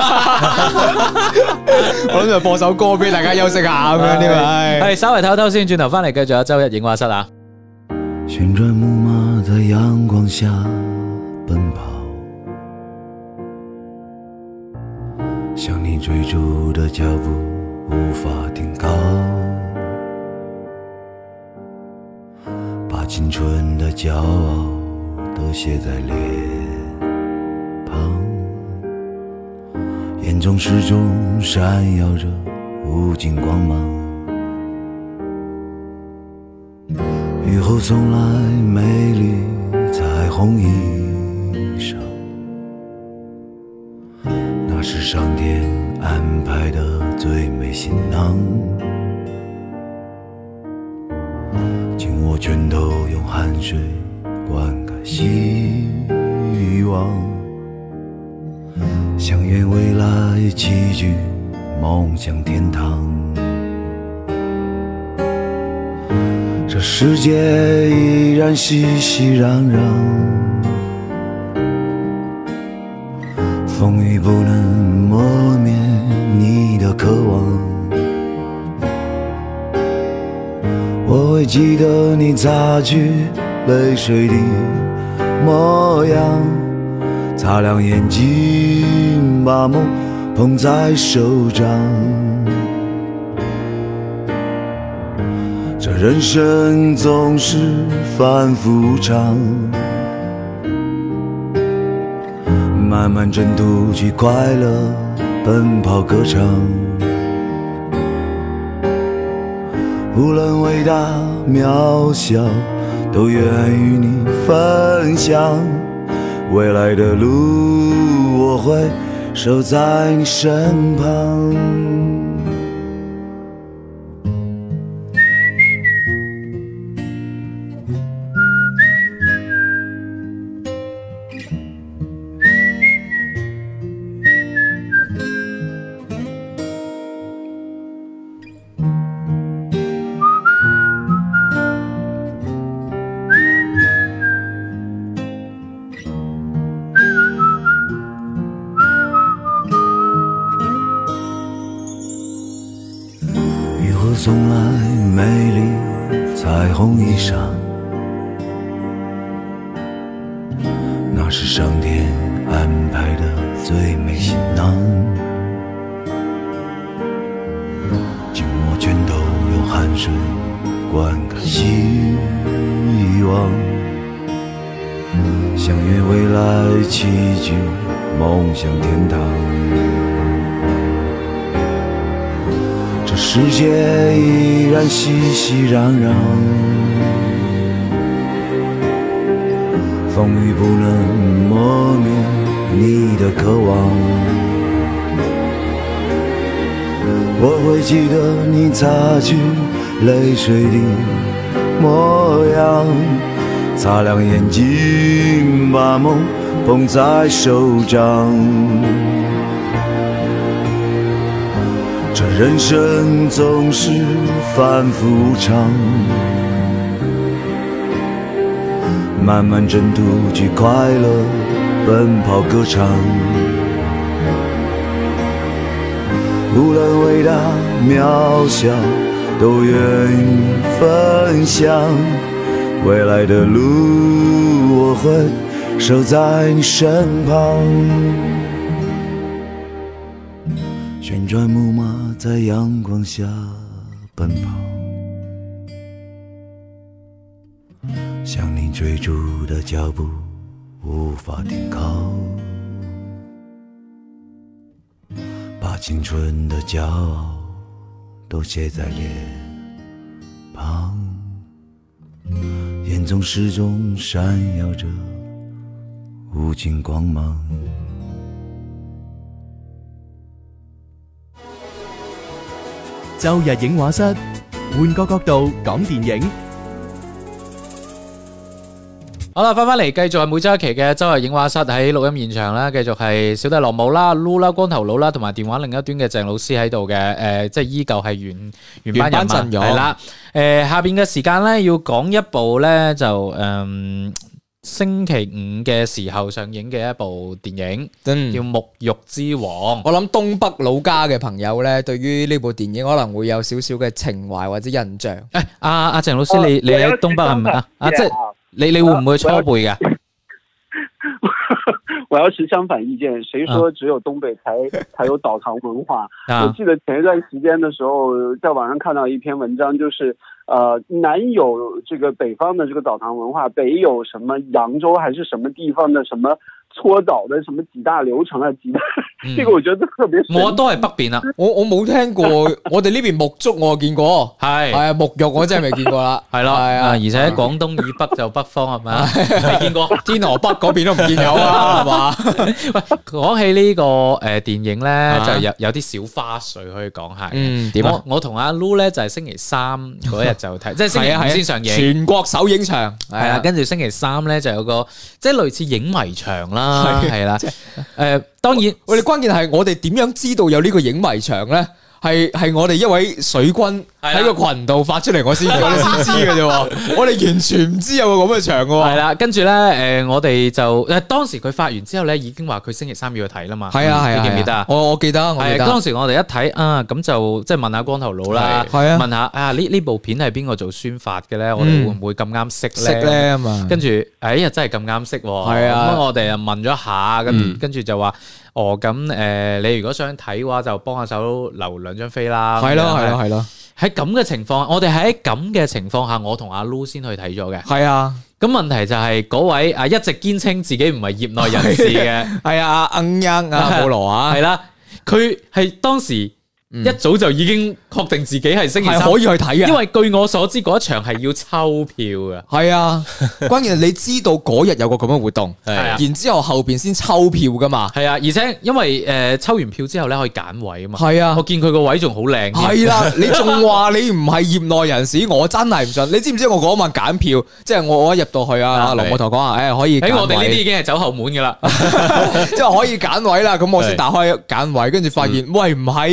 我諗住播首歌俾大家休息下咁樣啲咪，
係稍微唞先，轉頭翻嚟繼續有周一影畫室啊。
旋轉木馬在陽光下奔跑，向你追逐的腳步無法停靠，把青春的驕傲都寫在臉龐，眼中始終閃耀着無盡光芒，雨後送來美麗彩虹衣裳，那是上天安排的最美行囊，紧握拳头，用汗水灌溉希望，相约未来齐聚梦想天堂。这世界依然熙熙攘攘，风雨不能磨灭你的渴望，我会记得你擦去泪水的模样，擦亮眼睛，把梦捧在手掌。这人生总是反复无常，漫漫征途去快乐奔跑歌唱，无论伟大渺小都愿与你分享，未来的路我会守在你身旁。 送来美丽彩虹衣裳，那是上天安排的最美行囊，紧握拳头用汗水灌溉希望，相约未来齐聚梦想天堂。这世界依然熙熙攘攘，风雨不能磨灭你的渴望。我会记得你擦去泪水的模样，擦亮眼睛，把梦捧在手掌。这人生总是反复无常，漫漫征途去快乐奔跑歌唱，无论伟大渺小都愿与分享，未来的路我会守在你身旁。旋转木马在阳光下奔跑，向你追逐的脚步无法停靠，把青春的骄傲都写在脸庞，眼中始终闪耀着无尽光芒。
周日影畫室，換個角度講電影。
好啦，翻嚟繼續係每周一期嘅周日影畫室，喺錄音現場啦，繼續係小弟羅姆啦、Lu 啦、光頭佬啦，同埋電話另一端嘅鄭老師喺度嘅，即係依舊係原班人馬係啦。下邊嘅時間咧要講一部咧就星期五嘅時候上映嘅一部電影，叫《沐浴之王》。
我諗東北老家嘅朋友咧，對於呢部電影可能會有少少嘅情懷或者印象。
阿鄭老師，你喺東北係咪啊？即係你會唔會初輩噶？
我要持相反意見，誰說只有東北才有澡堂文化？我記得前一段時間的時候，在網上看到一篇文章，就是南有這個北方的這個澡堂文化，北有什麼揚州還是什麼地方的什麼搓澡的什麼幾大流程啊，幾大，這個我覺得特別神奇。
我都係北邊啊，
我冇聽過，我哋呢邊沐足我見過，係沐浴我真係未見過啦，係咯，係啊，
而且喺廣東以北就北方係咪啊？未見過，
天河北嗰邊都唔見有啊，係嘛？
喂，講起呢個電影咧，就有啲小花絮可以講下。點啊？我同阿 Lu 咧就係星期三嗰日就睇，即係星期五先上映，
全國首映場
係啊，跟住星期三咧就有個即係類似影迷場啦。係啦，當然，
我哋關鍵係我哋點樣知道有呢個影迷場咧？係我哋一位水軍喺個群度發出嚟，我哋先知嘅啫。我哋完全唔知有個咁嘅場嘅。
係啦，跟住咧，我哋就當時佢發完之後咧，已經話佢星期三要去睇啦嘛。
係啊，
你記唔記得啊？
我記得，
當時我哋一睇啊，咁就即係問下光頭佬啦，問下啊呢部片係邊個做宣發嘅咧？我哋會唔會咁啱識咧？
啊嘛。
跟住真係咁啱識喎。係啊。咁我哋又問咗下，跟住就話。咁你如果想睇嘅話，就幫下手留2張飛啦。
係咯。
喺咁嘅情況，我哋喺咁嘅情況下，我同阿 Lu 先去睇咗嘅。
係啊。咁
問題就係嗰位一直堅稱自己唔係業內人士嘅，
係啊，阿保羅啊，
係啦，佢係當時。一早就已經確定自己係星期三
可以去睇嘅，
因為據我所知嗰一場係要抽票嘅。
係啊，關鍵係你知道嗰日有個咁嘅活動，然之後後邊先抽票噶嘛。
係啊，而且因為抽完票之後咧可以揀位啊嘛。
係啊，
我見佢個位仲好靚。
係啦，你仲話你唔係業內人士，我真係唔信。你知唔知我嗰晚揀票，即係我一入到去啊，羅姆頭講話，可以。
我哋呢啲已經係走後門噶啦，
即係可以揀位啦。咁我先打開揀位，跟住發現喂唔係啊。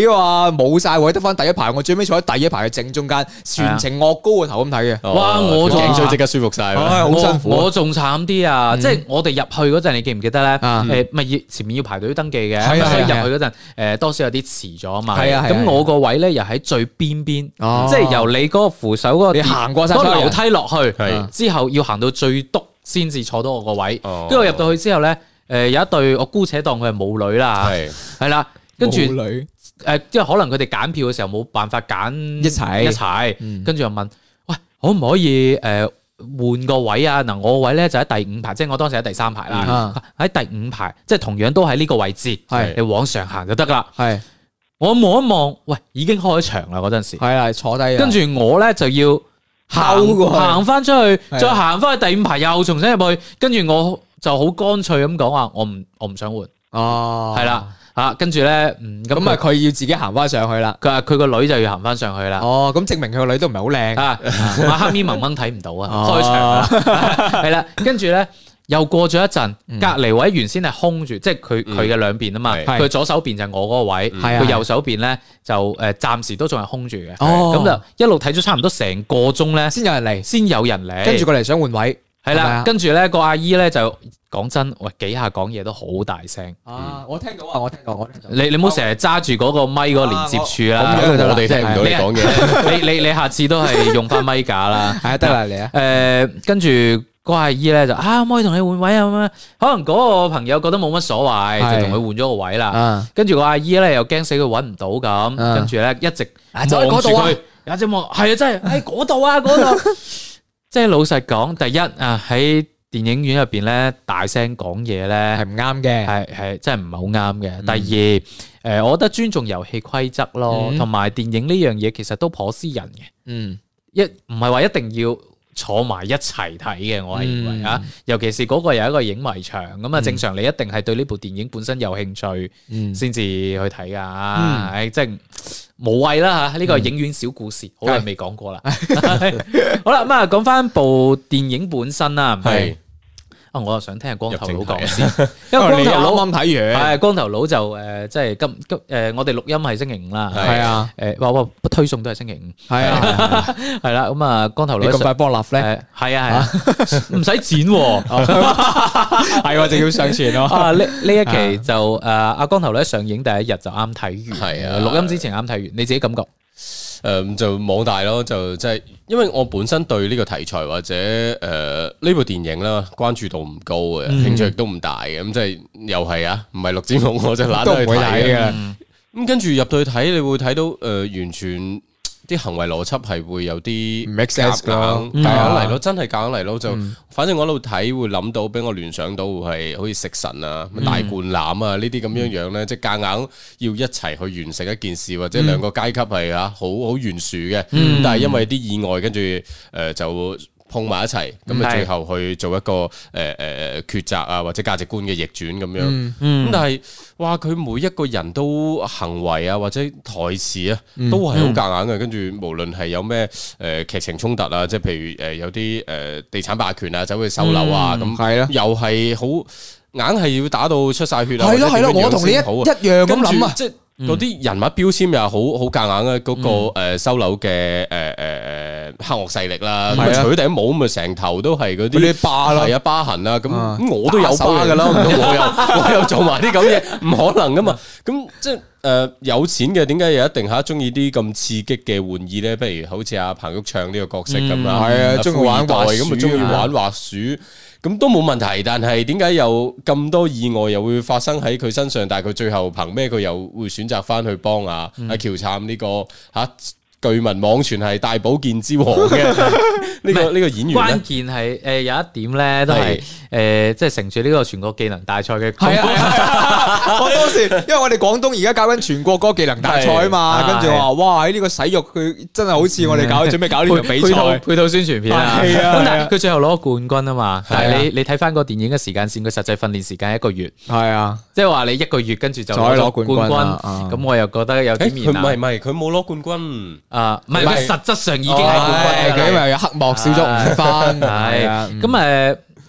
啊，冇晒位，得翻第一排，我最尾坐喺第一排嘅正中間，全程惡高個頭咁睇嘅。
哇！我
頸椎即刻舒服晒，
好辛苦。
我仲慘啲啊！即係我哋入去嗰陣，你記唔記得咧？咪要前面要排隊登記嘅，所以入去嗰陣多少有啲遲咗啊嘛。咁我個位咧又喺最邊邊，即係由你嗰個扶手嗰個，
你行過晒
嗰個樓梯落去，之後要行到最篤先至坐到我個位。跟住我入到去之後咧，有一對我姑且當佢係母女啦，係啦，跟住即係可能佢哋揀票嘅時候冇辦法揀一齊，跟住又問：喂，可唔可以換個位啊？嗱，我個位咧就喺第五排，即係我當時喺第三排啦，喺第五排，即係同樣都喺呢個位置，你往上行就得啦。我望一望，喂，已經開場啦嗰陣時，
係坐低，
跟住我咧就要行翻出去，再行翻去第五排，又重新入去，跟住我就好乾脆咁講話，我唔想換，係啦。跟住咧，
咁啊，佢要自己行翻上去啦。
佢話佢個女就要行翻上去啦。
咁證明佢個女都唔係好靚啊。
黑咪蒙蒙睇唔到啊，開場啦，係啦。跟住咧，又過咗一陣，隔離位原先係空住，即係佢嘅兩邊啊嘛。佢左手邊就係我嗰個位，佢右手邊咧就暫時都仲係空住嘅。咁就一路睇咗差唔多成個鐘咧，先有人嚟，
跟住過嚟想換位。
係啦，跟住咧個阿姨咧就講真，喂，幾下講嘢都好大聲。
我聽到啊，我聽到。
你唔好成日揸住嗰個咪嗰個連接處啦，
我哋聽唔到你講嘢。
你下次都係用翻咪架啦。
係得啦，嚟啊。
跟住個阿姨咧就可唔可以同你換位啊？咁樣可能嗰個朋友覺得冇乜所謂，就同佢換咗個位啦。跟住個阿姨咧又驚死佢揾唔到咁，跟住咧一直望住佢，有隻望係啊，真係喺嗰度啊，嗰度。即係老實講，第一啊喺電影院入邊咧大聲講嘢咧
係唔啱嘅，
係真係唔係好啱嘅。第二我覺得尊重遊戲規則咯，同埋電影呢樣嘢其實都頗私人嘅，唔係話一定要坐埋一齊睇嘅，我係認為啊，尤其是嗰個有一個影迷場咁啊，正常你一定係對呢部電影本身有興趣先至去睇噶，即係無謂啦吓，呢個影院小故事，好耐未講過啦。好啦，咁啊，講翻部電影本身啦，係我又想聽下光頭佬講先，因為光頭佬啱睇完，係光頭佬就即係今我哋錄音係星期五啦，係啊，話推送都係星期五，係啊，係啦，咁啊，光頭佬
咁快幫我立 flag，
係啊，唔使剪，
係就要上傳咯。
啊，呢一期就阿光頭佬上映第一日就啱睇完，係啊，錄音之前啱睇完，你自己感覺？
就網大咯，就即係因為我本身對呢個題材或者呢部電影啦關注度唔高嘅，興趣亦都唔大嘅，咁即係又係啊，唔係錄節目我就懶得去睇嘅。咁跟住入到去睇，你會睇到完全啲行為邏輯係會有啲
make sense 㗎，
夾硬嚟咯，真係夾硬嚟咯，就反正我喺度睇會諗到，俾我聯想到係好似食神啊、大灌籃啊呢啲咁樣樣咧，即係夾硬要一齊去完成一件事，或者兩個階級係好懸殊嘅，但係因為啲意外，跟住就碰埋一齊，咁啊最後去做一個抉擇啊，或者價值觀嘅逆轉咁樣。咁但係哇，佢每一個人都行為啊，或者台詞啊，都係好夾硬嘅。跟住無論係有咩劇情衝突啊，即係譬如有啲地產霸權啊，走去收樓啊，咁又係好硬係要打到出晒血啊。
係咯，我同你一樣咁諗啊，
即係嗰啲人物標籤又好夾硬啊。嗰個收樓嘅黑惡勢力啦，咁除咗頂帽咁啊，成頭都係嗰啲疤啦，係啊疤痕啦，咁我都有疤噶啦，唔通我又做埋啲咁嘢，唔可能噶嘛。咁即係有錢嘅，點解又一定中意啲咁刺激嘅玩意咧？不如好似阿彭昱暢呢個角色咁啊，係啊，中意玩滑鼠，咁啊中意玩滑鼠，咁都冇問題。但係點解有咁多意外又會發生喺佢身上？但係佢最後憑咩佢又會選擇翻去幫阿喬杉呢個據聞網傳係大保健之王嘅呢個演員？
關鍵係有一點咧，都係即係乘住呢個全國技能大賽嘅。係
啊，我當時因為我哋廣東而家搞緊全國嗰個技能大賽啊嘛，跟住話哇喺呢個洗浴佢真係好似我哋準備搞呢場比賽
配套宣傳片啊。
係啊，
但係佢最後攞冠軍啊嘛。但係你睇翻個電影嘅時間線，佢實際訓練時間1個月。
係啊，
即係話你1個月跟住就攞冠軍。咁我又覺得有啲面啊。
唔係，佢冇攞冠軍。
唔係，佢實質上已經係冠軍，
佢因為有黑幕少咗5分。
係咁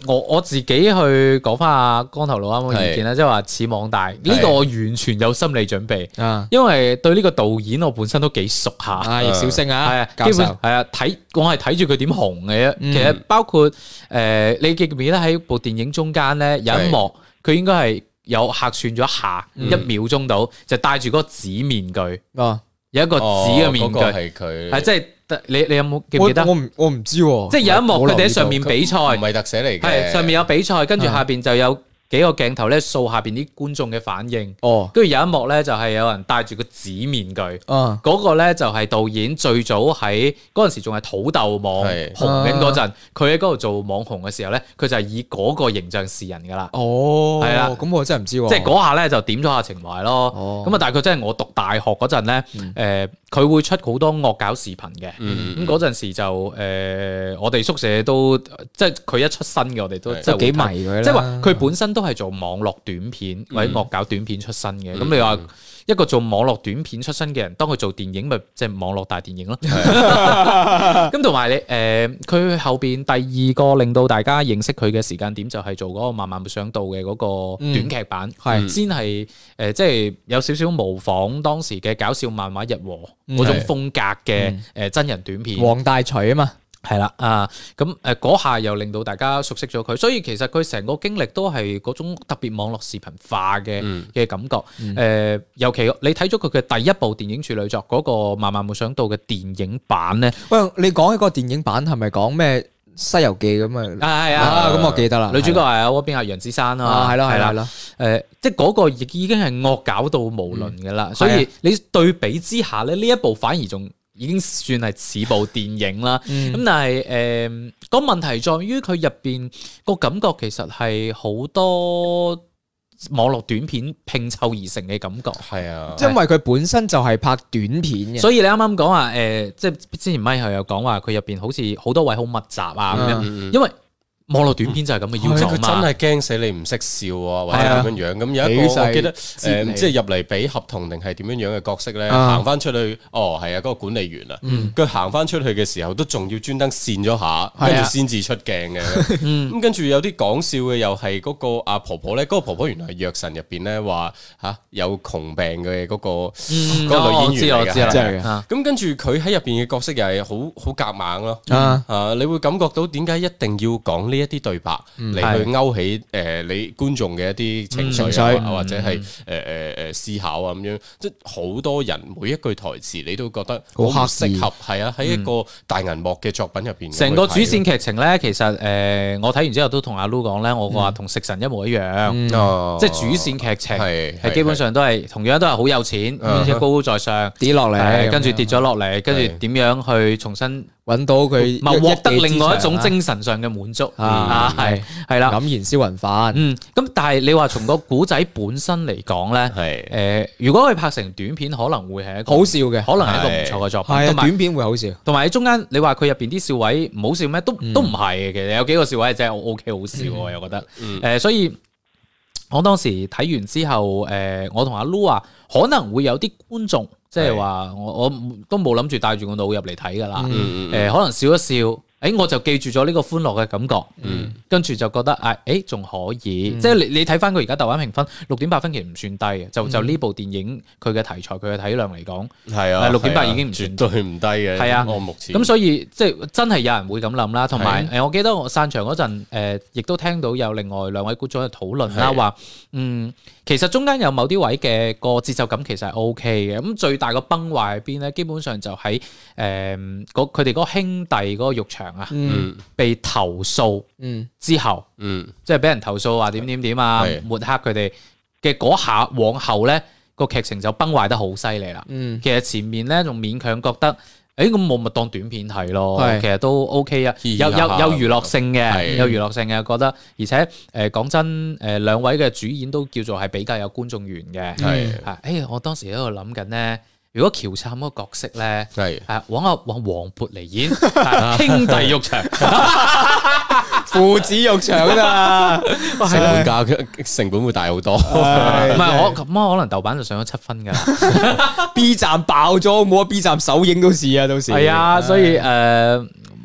我自己去講翻阿光頭佬啱嘅意見咧，即係話似網大呢個我完全有心理準備，因為對呢個導演我本身都幾熟下，
易小星啊，
係啊，基本係啊，我係睇住佢點紅嘅啫。其實包括你記唔記得喺部電影中間咧有一幕，佢應該係有客串咗一下1秒鐘到，就戴住嗰個紙面具，有一個紙嘅面具
係佢，
係即係。你有冇記唔記得？
我唔知喎。
即係有一幕佢哋喺上面比賽，
唔係特寫嚟嘅。
係上面有比賽，跟住下邊就有幾個鏡頭咧掃下邊啲觀眾嘅反應。跟住有一幕咧就係有人戴住個紙面具。嗰個咧就係導演最早喺嗰陣時仲係土豆網紅緊嗰陣，佢喺嗰度做網紅嘅時候咧，佢就係以嗰個形象示人噶啦。係啦，
咁我真係唔知喎。
即係嗰下咧就點咗下情懷咯。咁啊，但係佢真係我讀大學嗰陣咧，佢會出好多惡搞視頻嘅，咁嗰陣時就我哋宿舍都即係佢一出新嘅，我哋都即係幾迷佢啦。即係話佢本身都係做網絡短片或者惡搞短片出身嘅。咁你話一個做網絡短片出身嘅人，當佢做電影咪即係網絡大電影咯。咁同埋你佢後邊第二個令到大家認識佢嘅時間點就係做嗰個萬萬沒想到嘅嗰個短劇版，先係即係有少少模仿當時嘅搞笑漫畫日和嗰種風格嘅真人短片。黃大廚啊嘛。係啦，咁嗰下又令到大家熟悉咗佢，所以其實佢成個經歷都係嗰種特別網絡視頻化嘅感覺。尤其你睇咗佢嘅第一部電影處女作嗰個《萬萬沒想到》嘅電影版咧，
喂，你講起個電影版係咪講咩《西遊記》咁啊？係啊，咁我記得啦。
女主角係嗰邊係楊子珊啊，
係啦，
即係嗰個亦已經係惡搞到無倫嘅啦。所以你對比之下咧，呢一部反而仲已經算係似部電影啦，咁但係個問題在於佢入邊個感覺其實係好多網絡短片拼湊而成嘅感覺。係啊，
因為佢本身就係拍短片嘅，
所以你啱啱講話即係之前咪後有講話佢入邊好似好多位好密集啊咁樣，因為網絡短片就係咁嘅要求嘛，
佢真係驚死你唔識笑啊，或者點樣樣。咁有一個我記得即係入嚟俾合同定係點樣樣嘅角色咧，行翻出去，係啊，嗰個管理員啊，佢行翻出去嘅時候都仲要專登跣咗下，跟住先至出鏡嘅。咁跟住有啲講笑嘅又係嗰個阿婆婆咧，嗰個婆婆原來係藥神入邊咧話嚇有窮病嘅嗰個女演員嚟嘅。咁跟住佢喺入邊嘅角色又係好夾硬咯。你會感覺到點解一定要講呢一啲對白嚟去勾起你觀眾嘅一啲情緒或者係思考啊咁樣，即係好多人每一句台詞你都覺得好適合，係啊，喺一個大銀幕嘅作品入邊。
成個主線劇情咧，其實我睇完之後都同阿 Lu 講咧，我話同食神一模一樣，即係主線劇情係基本上都係同樣都係好有錢，而且高高在上
跌落嚟，
跟住跌咗落嚟，跟住點樣去重新
揾到佢，
獲得另外一種精神上嘅滿足係啦，
黯然銷魂飯。
咁但係你話從個古仔本身嚟講咧，如果佢拍成短片，可能會係一個
好笑嘅，
可能係一個唔錯嘅作品。
係短片會好笑，
同埋喺中間你話佢入邊啲笑位唔好笑咩？都唔係嘅，其實有幾個笑位真係 OK 好笑，我又覺得。所以我當時睇完之後，我同阿 Lu 話可能會有啲觀眾。即係話我都冇諗住帶住個腦入嚟睇㗎啦，可能笑一笑，我就記住咗呢個歡樂嘅感覺，跟住就覺得仲可以，即係你睇翻佢而家豆瓣評分6.8分，其實唔算低嘅，就呢部電影佢嘅題材佢嘅體量嚟講，係啊，6.8已經唔算
絕對唔低嘅，係啊，目前
咁所以即係真係有人會咁諗啦，同埋我記得我散場嗰陣亦都聽到有另外2位觀眾喺度討論啦，話其實中間有某啲位嘅個節奏感其實係 OK 嘅，咁最大個崩壞喺邊咧？基本上就喺佢哋嗰個兄弟嗰個浴場啊，被投訴之後，即係俾人投訴話點啊，抹黑佢哋嘅嗰下，往後咧個劇情就崩壞得好犀利啦。其實前面咧仲勉強覺得。咁我咪當短片睇咯，其實都 OK 啊，有娛樂性嘅，有娛樂性嘅，覺得而且講真，2位嘅主演都叫做係比較有觀眾緣嘅。我當時喺度諗緊咧，如果喬杉嗰個角色咧，揾黃渤嚟演兄弟浴場，
父子浴場啊，
成本會大好多。唔
係我咁可能豆瓣就上咗7分㗎啦。
B 站爆咗，冇啊 B 站首映都試啊，到時
係啊，所以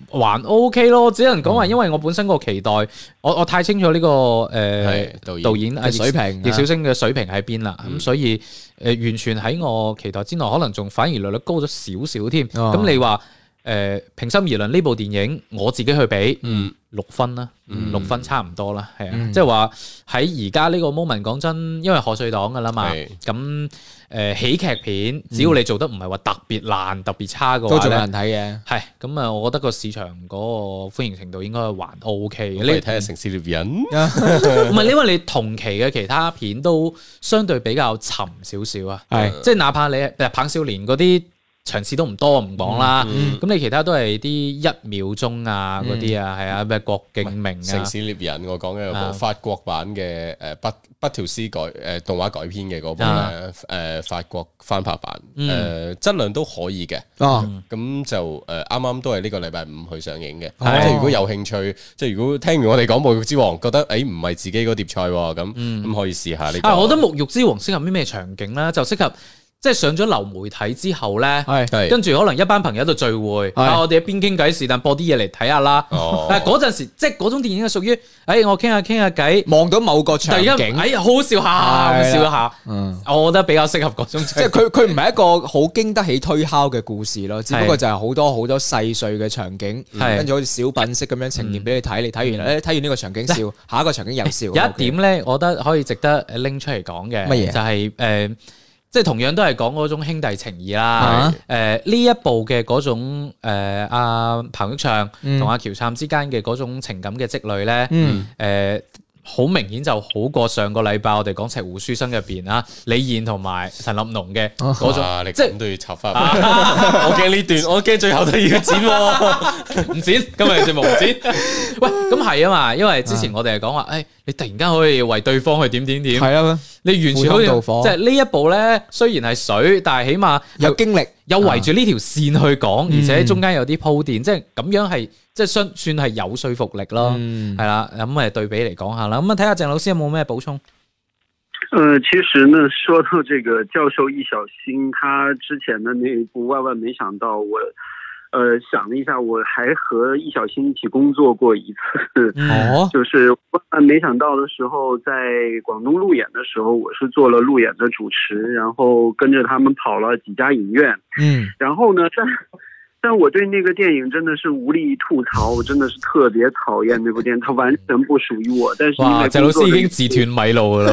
還 OK 咯，只能講話因為我本身個期待，我太清楚呢個導演嘅水平，易小星嘅水平喺邊啦，咁所以完全喺我期待之內，可能仲反而略略高咗少少添。咁你話平心而論呢部電影，我自己去比6分啦，6分差唔多啦，係啊，即係話喺而家呢個 moment 講真，因為賀歲檔噶啦嘛，咁喜劇片只要你做得唔係話特別爛、特別差嘅話，都仲有人睇嘅。係咁啊，我覺得個市場嗰個歡迎程度應該還 OK 嘅。你
睇下《城市獵人》，
唔係因為你同期嘅其他片都相對比較沉少少啊，係即係哪怕你棒少年嗰啲。場次都唔多唔講啦，咁你其他都係啲1秒鐘啊嗰啲啊，係啊咩郭敬明啊，
城市獵人我講嘅有部法國版嘅北條司動畫改編嘅嗰部咧，法國翻拍版，質量都可以嘅，咁就啱啱都係呢個禮拜5去上映嘅，即係如果有興趣，即係如果聽完我哋講《沐浴之王》，覺得唔係自己嗰碟菜喎，咁可以試下呢個。
我覺得《沐浴之王》適合啲咩場景咧？就適合。即係上咗流媒體之後咧，跟住可能一班朋友喺度聚會，我哋一邊傾偈，是但播啲嘢嚟睇下啦。但係嗰陣時，即係嗰種電影係屬於，我傾下偈，
望到某個場景，
好好笑下，笑一下。我覺得比較適合嗰種。
即係佢唔係一個好經得起推敲嘅故事咯，只不過就係好多好多細碎嘅場景，跟住好似小品式咁樣呈現俾你睇。你睇完，睇完呢個場景笑，下一個場景又笑。有
一點咧，我覺得可以值得拎出嚟講嘅，乜嘢？就係即係同樣都係講嗰種兄弟情義啦。呢一部嘅嗰種阿彭昱暢同阿喬杉之間嘅嗰種情感嘅積累咧，好明顯就好過上個禮拜我哋講《赤狐書生》入邊啊，李現同埋陳立農嘅嗰種，
即係都要插翻。我驚呢段，我驚最後都要剪，
唔剪，今日節目唔剪。喂，咁係啊嘛，因為之前我哋係講話，你突然間可以為對方去點，係啊，你完全好似即係呢一部咧，雖然係水，但係起碼
有經歷，
有圍住呢條線去講，而且中間有啲鋪墊，即係咁樣係。即係算係有說服力咯，係啦，咁對比嚟講下啦，咁睇下鄭老師有冇咩補充？
其實呢，說到這個教授易小星，他之前的那一部《萬萬沒想到》，我想了一下，我還和易小星一起工作過一次，就是《萬萬沒想到》的時候，在廣東路演的時候，我是做了路演的主持，然後跟着他們跑了幾家影院，然後呢，但我對那個電影真的是無力吐槽，我真的是特別討厭那部電影，它完全不屬於我。但是因為
鄭老師已經自斷米路了。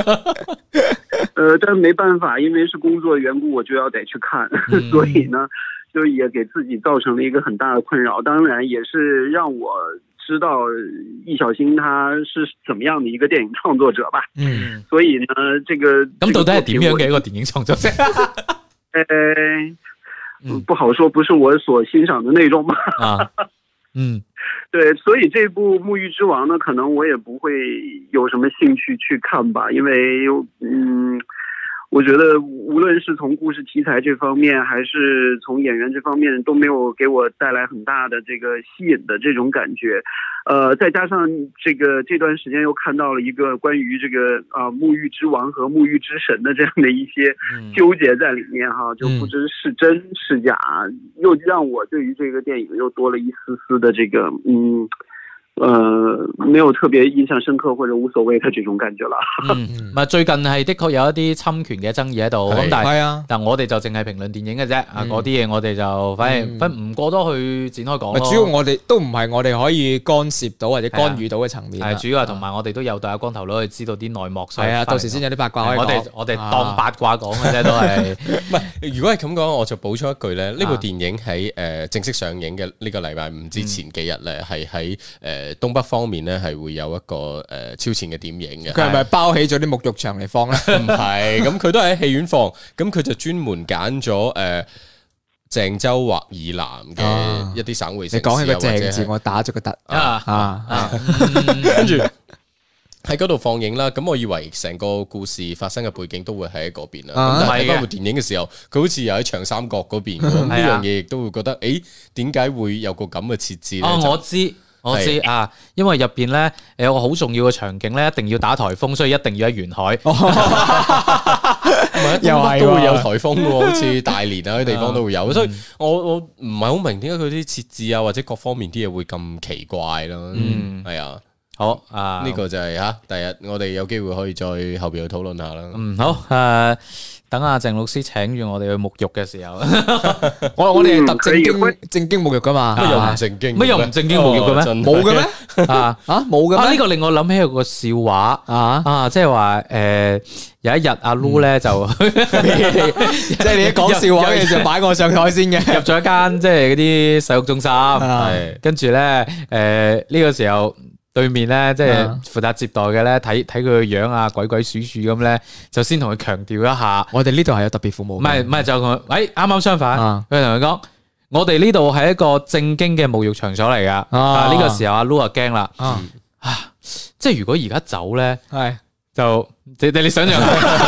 但沒辦法，因為是工作緣故，我就要得去看，所以呢，就也給自己造成了一個很大的困擾。當然，也是讓我知道易小星他是怎麼樣的一個電影創作者吧。所以呢，這個
咁到底係點樣嘅一個電影創作者？
不好說，不是我所欣賞的那種吧。對，所以這部《沐浴之王》呢，可能我也不會有什麼興趣去看吧，因為我覺得無論是從故事題材這方面，還是從演員這方面，都沒有給我帶來很大的這個吸引的這種感覺。再加上這段時間又看到了一個關於這個沐浴之王和沐浴之神的這樣的一些糾結在裏面哈，就不知是真是假，又讓我對於這個電影又多了一絲絲的這個沒有特別印象深刻或者無所謂嘅這種感覺啦。
最近係的確有一啲侵權嘅爭議喺度，咁但我哋就淨係評論電影嘅啫，嗰啲嘢我哋就反而唔過多去展開講咯。
主要我哋都唔係我哋可以干涉到或者干預到嘅層面。
係主要係同埋我哋都有對阿光頭佬去知道啲內幕。
係啊，到時先有啲八卦可以講。
我哋當八卦講嘅啫，都係。
唔係，如果係咁講，我就補充一句咧，呢部電影喺正式上映嘅呢個禮拜5之前幾日咧，係喺東北方面咧係會有一個超前嘅點映嘅。
佢係咪包起咗啲沐浴場嚟放咧？
唔係，咁佢都係喺戲院放，咁佢就專門揀咗鄭州或以南嘅一啲省會城市。
你講起個鄭字，我打咗個突
跟住喺嗰度放映啦。咁我以為成個故事發生嘅背景都會喺嗰邊啦。咁但係睇嗰部電影嘅時候，佢好似又喺長三角嗰邊。呢樣嘢亦都會覺得，點解會有個咁嘅設置咧？
我知啊，因為入邊咧有個好重要嘅場景咧，一定要打颱風，所以一定要喺沿海。
係東北都會有颱風喎，好似大連啊啲地方都會有，所以我唔係好明點解佢啲設置啊或者各方面啲嘢會咁奇怪咯。係啊。好啊，呢個就係第日我哋有機會可以再後邊去討論下啦。
好等阿鄭老師請住我哋去沐浴嘅時候，
我哋係特正經沐浴噶嘛？
乜又唔正經？
乜又唔正經沐浴嘅咩？
冇嘅咩？冇嘅咩？
呢個令我諗起有個笑話即係話有一日阿 Lu 咧就
即係你一講笑話嘅就擺我上台先嘅，
入咗一間即係嗰啲洗浴中心，跟住咧呢個時候。對面咧，即係負責接待嘅咧，睇佢個樣啊，鬼鬼祟祟咁咧，就先同佢強調一下，
我哋呢度係有特別服務。
唔係就同佢，啱啱相反，佢同佢講，我哋呢度係一個正經嘅沐浴場所嚟噶。呢個時候阿 Lu 就驚啦，即係如果而家走咧，就你想象，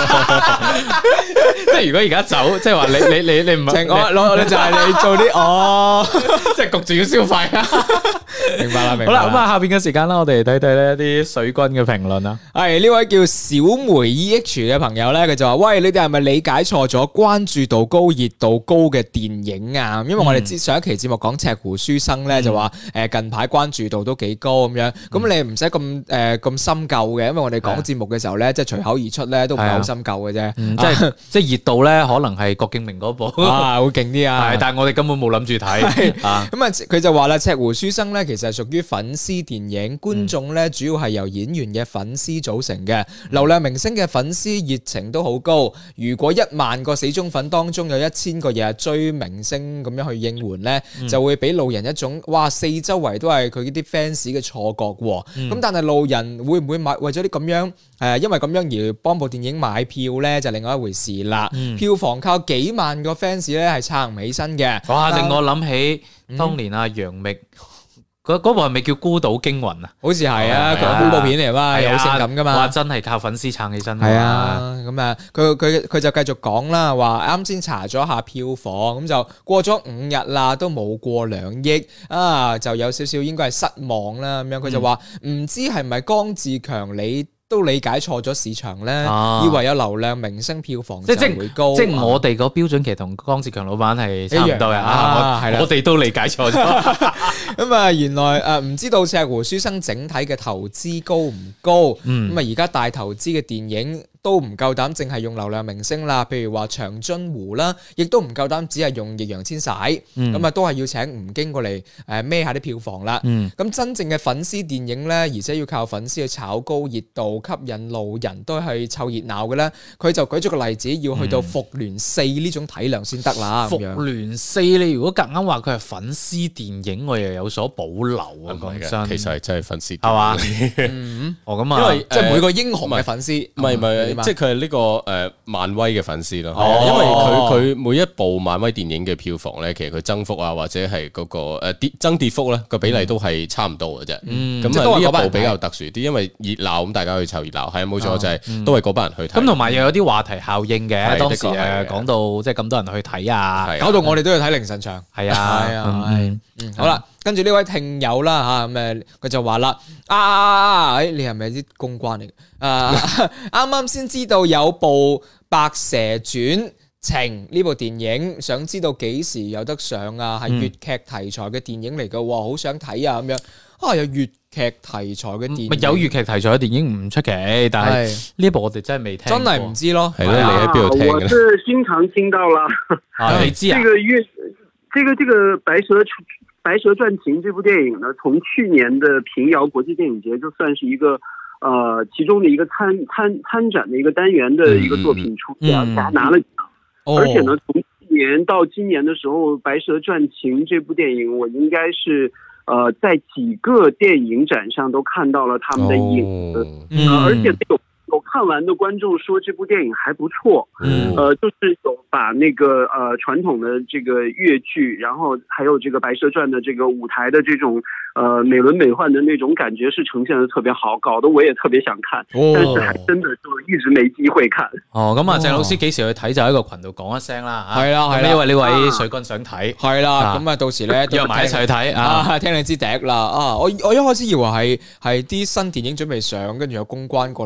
即係如果而家走，即係話你唔係
我就係你做啲
即係焗住要消費啊！
明白啦，
好啦，咁下邊嘅時間啦，我哋睇睇呢啲水軍嘅評論啦。
係呢位叫小梅 EH 嘅朋友咧，佢就話：喂，你哋係咪理解錯咗關注度高、熱度高嘅電影啊？因為我哋上一期節目講《赤狐書生》咧，就話近排關注度都幾高咁樣。咁你唔使咁深究嘅，因為我哋講節目嘅時候咧，即係隨口而出咧，都唔係好深究嘅啫。
即係熱度咧，可能係郭敬明嗰部
會勁啲啊。
係，但係我哋根本冇諗住睇。
咁啊，佢就話啦，《赤狐書生》咧，其實係屬於粉絲電影，觀眾咧主要係由演員嘅粉絲組成嘅，流量明星嘅粉絲熱情都好高。如果1萬個死忠粉當中有1000個日日追明星咁樣去應援咧，就會俾路人一種哇四周圍都係佢啲 fans 嘅錯覺喎。咁但係路人會唔會為咗啲咁樣因為咁樣而幫部電影買票咧，就另外一回事啦。票房靠幾萬個 fans 咧係撐唔起身嘅。
哇！令我諗起當年阿楊冪。嗰部係咪叫《孤島驚魂》啊？
好似係啊，佢恐怖片嚟嘛，又好性感噶嘛。
哇！真係靠粉絲撐起身。
係啊，咁啊，佢就繼續講啦，話啱先查咗下票房，咁就過咗5日啦，都冇過2億啊，就有少少應該係失望啦咁樣。佢就話唔知係咪江志強你都理解錯咗市場咧，以為有流量明星票房就會高。
即係我哋個標準其實同江志強老闆係差唔多嘅。我哋都理解錯咗。
咁啊，原來唔知道《赤狐書生》整體嘅投資高唔高？咁啊，而家大投資嘅電影都唔夠膽淨係用流量明星啦，譬如話長津湖啦，亦都唔夠膽只係用易烊千璽，咁啊都係要請吳京過嚟孭下啲票房啦。咁真正嘅粉絲電影咧，而且要靠粉絲去炒高熱度，吸引路人都係湊熱鬧嘅咧。佢就舉咗個例子，要去到復聯4呢種體量先得啦。
復聯4你如果夾硬話佢係粉絲電影，我又有所保留啊。講真，
其實係真係粉絲，
係嘛？咁啊，
因為即係每個英雄嘅粉絲，
唔係。即係佢係呢個漫威嘅粉絲咯，因為佢每一部漫威電影嘅票房咧，其實佢增幅啊或者係嗰個增跌幅咧個比例都係差唔多嘅啫。咁呢一部比較特殊啲，因為熱鬧咁大家去湊熱鬧，係冇錯就係都係嗰班人去睇。
咁同埋又有啲話題效應嘅，當時講到即係咁多人去睇啊，
搞到我哋都要睇凌晨場。係啊，好啦。跟住呢位聽友啦嚇，咁佢就話啦，你係咪啲公關嚟？啱啱先知道有部《白蛇傳情》呢部電影，想知道幾時有得上啊？係粵劇題材嘅電影嚟嘅，好想睇啊咁樣。有粵劇題材嘅電影，
有粵劇題材嘅電影唔出奇，但係呢部我哋真係未聽，
真係唔知咯。
係咯，你喺邊度聽嘅？
我是經常聽到啦。
你知啊？
這個白蛇傳情這部電影呢，從去年的平遙國際電影節就算是一個其中的一個參展的一個單元的一個作品出現，拿了獎。而且呢，從去年到今年的時候，白蛇傳情這部電影，我應該是在幾個電影展上都看到了他們的影子，而且有看完的觀眾說這部電影還不錯，就是有把那個傳統的這個粵劇，然後還有這個白蛇傳的這個舞台的這種美輪美奐的那種感覺是呈現得特別好，搞得我也特別想看，但是還真的就一直沒機會看。咁
啊，鄭老師幾時去睇就喺個群度講一聲啦。
係啦，
呢位水軍想睇，係
啦，咁啊到時咧
約埋一齊去睇
聽你支笛啦。我一開始以為係啲新電影準備上，跟住有公關過嚟扮飛。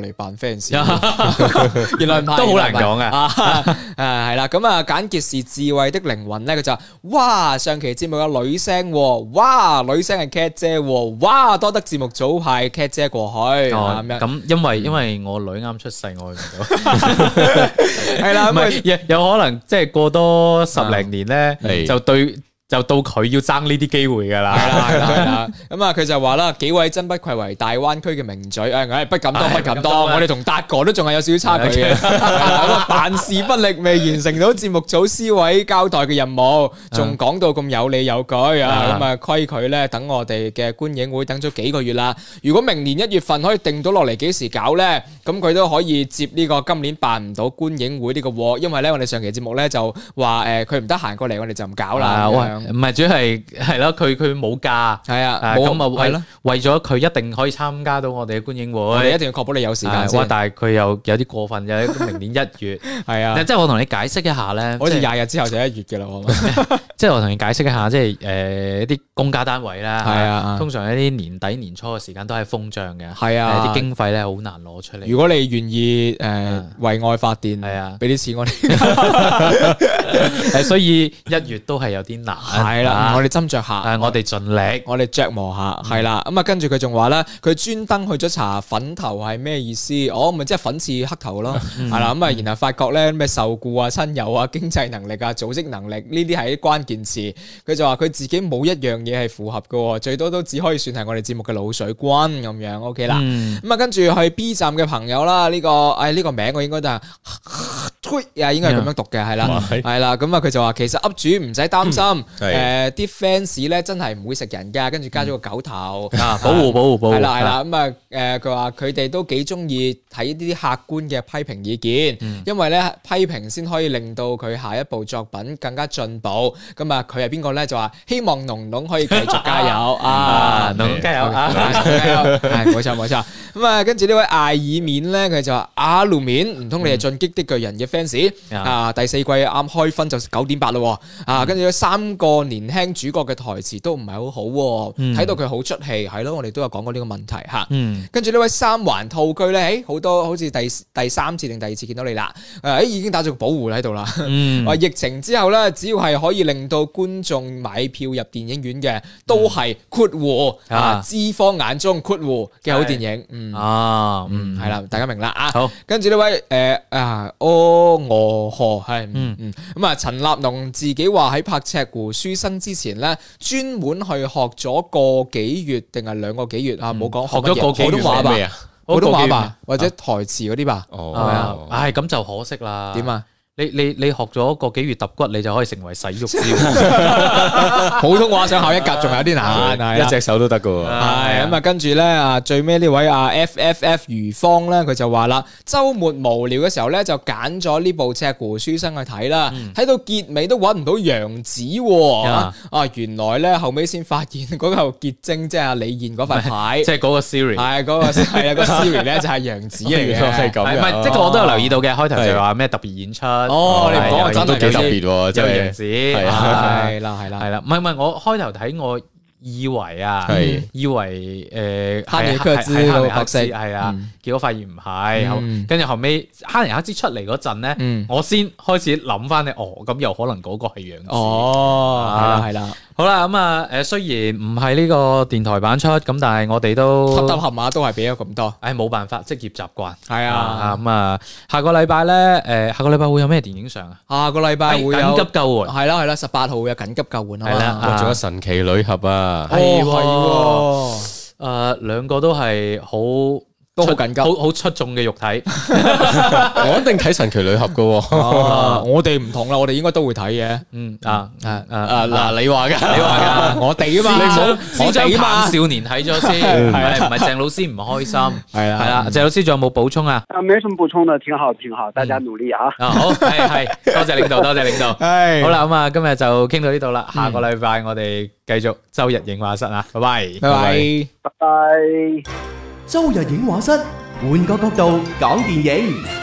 fans， 原來唔係，
都好難講啊。
係啦，咁啊簡潔是智慧的靈魂咧，佢就哇上期節目有女聲，哇女聲係 Cat 姐，哇多得節目組派 Cat 姐過去咁樣。
咁因為我女啱出世，我去唔到。
係啦，
唔係有可能即係過多10零年咧，就到佢要爭呢啲機會㗎啦。
係啦。咁啊，佢就話啦，幾位真不愧為大灣區嘅名嘴，不敢當，我哋同達哥都仲係有少少差距嘅。辦事不力，未完成到節目組司委交代嘅任務，仲講到咁有理有據啊！咁啊，規佢咧，等我哋嘅觀影會等咗幾個月啦。如果明年1月份可以定到落嚟幾時搞咧，咁佢都可以接呢個今年辦唔到觀影會呢個鑊，因為咧我哋上期節目咧就話佢唔得閒過嚟，我哋就唔搞啦。
唔係，主要係咯，佢冇假，
係啊，
咁啊為咗佢一定可以參加到我哋嘅觀影會，
我哋一定要確保你有時間先。
但係佢又有啲過分嘅，明年1月，係啊，即係我同你解釋一下咧，
好似20日之後就1月嘅啦，
即係我同你解釋一下，即係一啲公家單位啦，
係啊，
通常一啲年底年初嘅時間都係封帳嘅，
係啊，
啲經費咧好難攞出嚟。
如果你願意為愛發電，係啊，俾啲錢我哋，
所以1月都係有啲難。
係啦，我哋斟酌下，
我哋盡力，
我哋琢磨下，係啦。咁啊，跟住佢仲話咧，佢專登去咗查粉頭係咩意思？咪即係粉刺黑頭咯，係啦。咁啊，然後發覺咧咩受僱啊、親友啊、經濟能力啊、組織能力呢啲係啲關鍵詞。佢就話佢自己冇一樣嘢係符合嘅，最多都只可以算係我哋節目嘅滷水軍咁樣。OK 啦。咁啊，跟住去 B 站嘅朋友啦，呢個名我應該都係應該係咁樣讀嘅，係啦，係啦。咁啊，佢就話其實 up 主唔使擔心。啲 fans 咧真係唔會食人噶，跟住加咗個狗頭
保護，
係啦。咁啊，佢話佢哋都幾中意睇呢啲客觀嘅批評意見，因為咧批評先可以令到佢下一部作品更加進步。咁啊，佢係邊個咧？就話希望農農可以繼續加油啊！
農農加油啊！
係冇錯。咁啊，跟住呢位艾爾面咧，佢就話阿路面，唔通你係進擊的巨人嘅 fans 啊？第4季啱開分就9.8咯，跟住3個年輕主角嘅台詞都唔係好好，睇到佢好出戲，係咯，我哋都有講過呢個問題吓。跟住呢位三環套區咧，好多好似第3次定第2次見到你啦，已經打咗個保護喺度啦。話疫情之後咧，只要係可以令到觀眾買票入電影院嘅，都係括弧資方眼中括弧嘅好電影。係啦，大家明啦啊。好，跟住呢位河係咁啊，陳立農自己話喺拍赤狐書生之前咧，專門去學咗個幾月定係2個幾月啊？冇講
學咗個幾月
普通話吧，普通話吧，或者台詞嗰啲吧。
係啊，唉，咁就可惜啦。
點啊？
你學咗個幾月揼骨，你就可以成為洗浴師。
普通話想考1格仲有啲難，
一隻手都得噶。
係咁啊，跟住咧啊，最尾呢位FFF 余芳咧，佢就話啦，週末無聊嘅時候咧，就揀咗呢部《赤狐書生》去睇啦。睇到結尾都揾唔到楊紫原來咧後尾先發現嗰嚿結晶即係李燕嗰塊牌，
即係嗰個 Siri。
係嗰個係啊，個 Siri 咧就係楊紫嚟嘅。
係咁。
唔係，即係我都有留意到嘅。開頭就話咩特別演出。
你講真
都幾特別喎，
真係楊紫。
係啦，
唔係，我開頭睇我以為
哈尼克茲嗰個角色
係啊，結果發現唔係，跟住後尾哈尼克茲出嚟嗰陣咧，我先開始諗翻你，咁又可能嗰個係楊紫。
係啦。
好啦，咁啊，雖然唔係呢個電台版出，咁但係我哋都
揼合碼都係俾咗咁多。
冇辦法，職業習慣。
係啊，
咁啊，下個禮拜咧，下個禮拜會有咩電影上啊？
下個禮拜會有
緊急救援。係
啦，18號有緊急救援。
係啦，
仲有神奇女俠啊。
兩個都係好。
都好緊急，
好出眾嘅肉體，
我一定睇神奇女俠噶。
我哋唔同啦，我哋應該都會睇嘅。
嗱，你話噶，
我哋啊嘛，
你唔好先將棒少年睇咗先，係唔係鄭老師唔開心？係啦，鄭老師仲有冇補充啊？
沒什麼補充的，挺好，大家努力啊！
好，係，多謝領導，多謝領導。好啦，咁啊，今日就傾到呢度啦，下個禮拜我哋繼續周日映畫室啊，拜拜，
拜拜，
拜拜。
周日映畫室，換個角度講電影。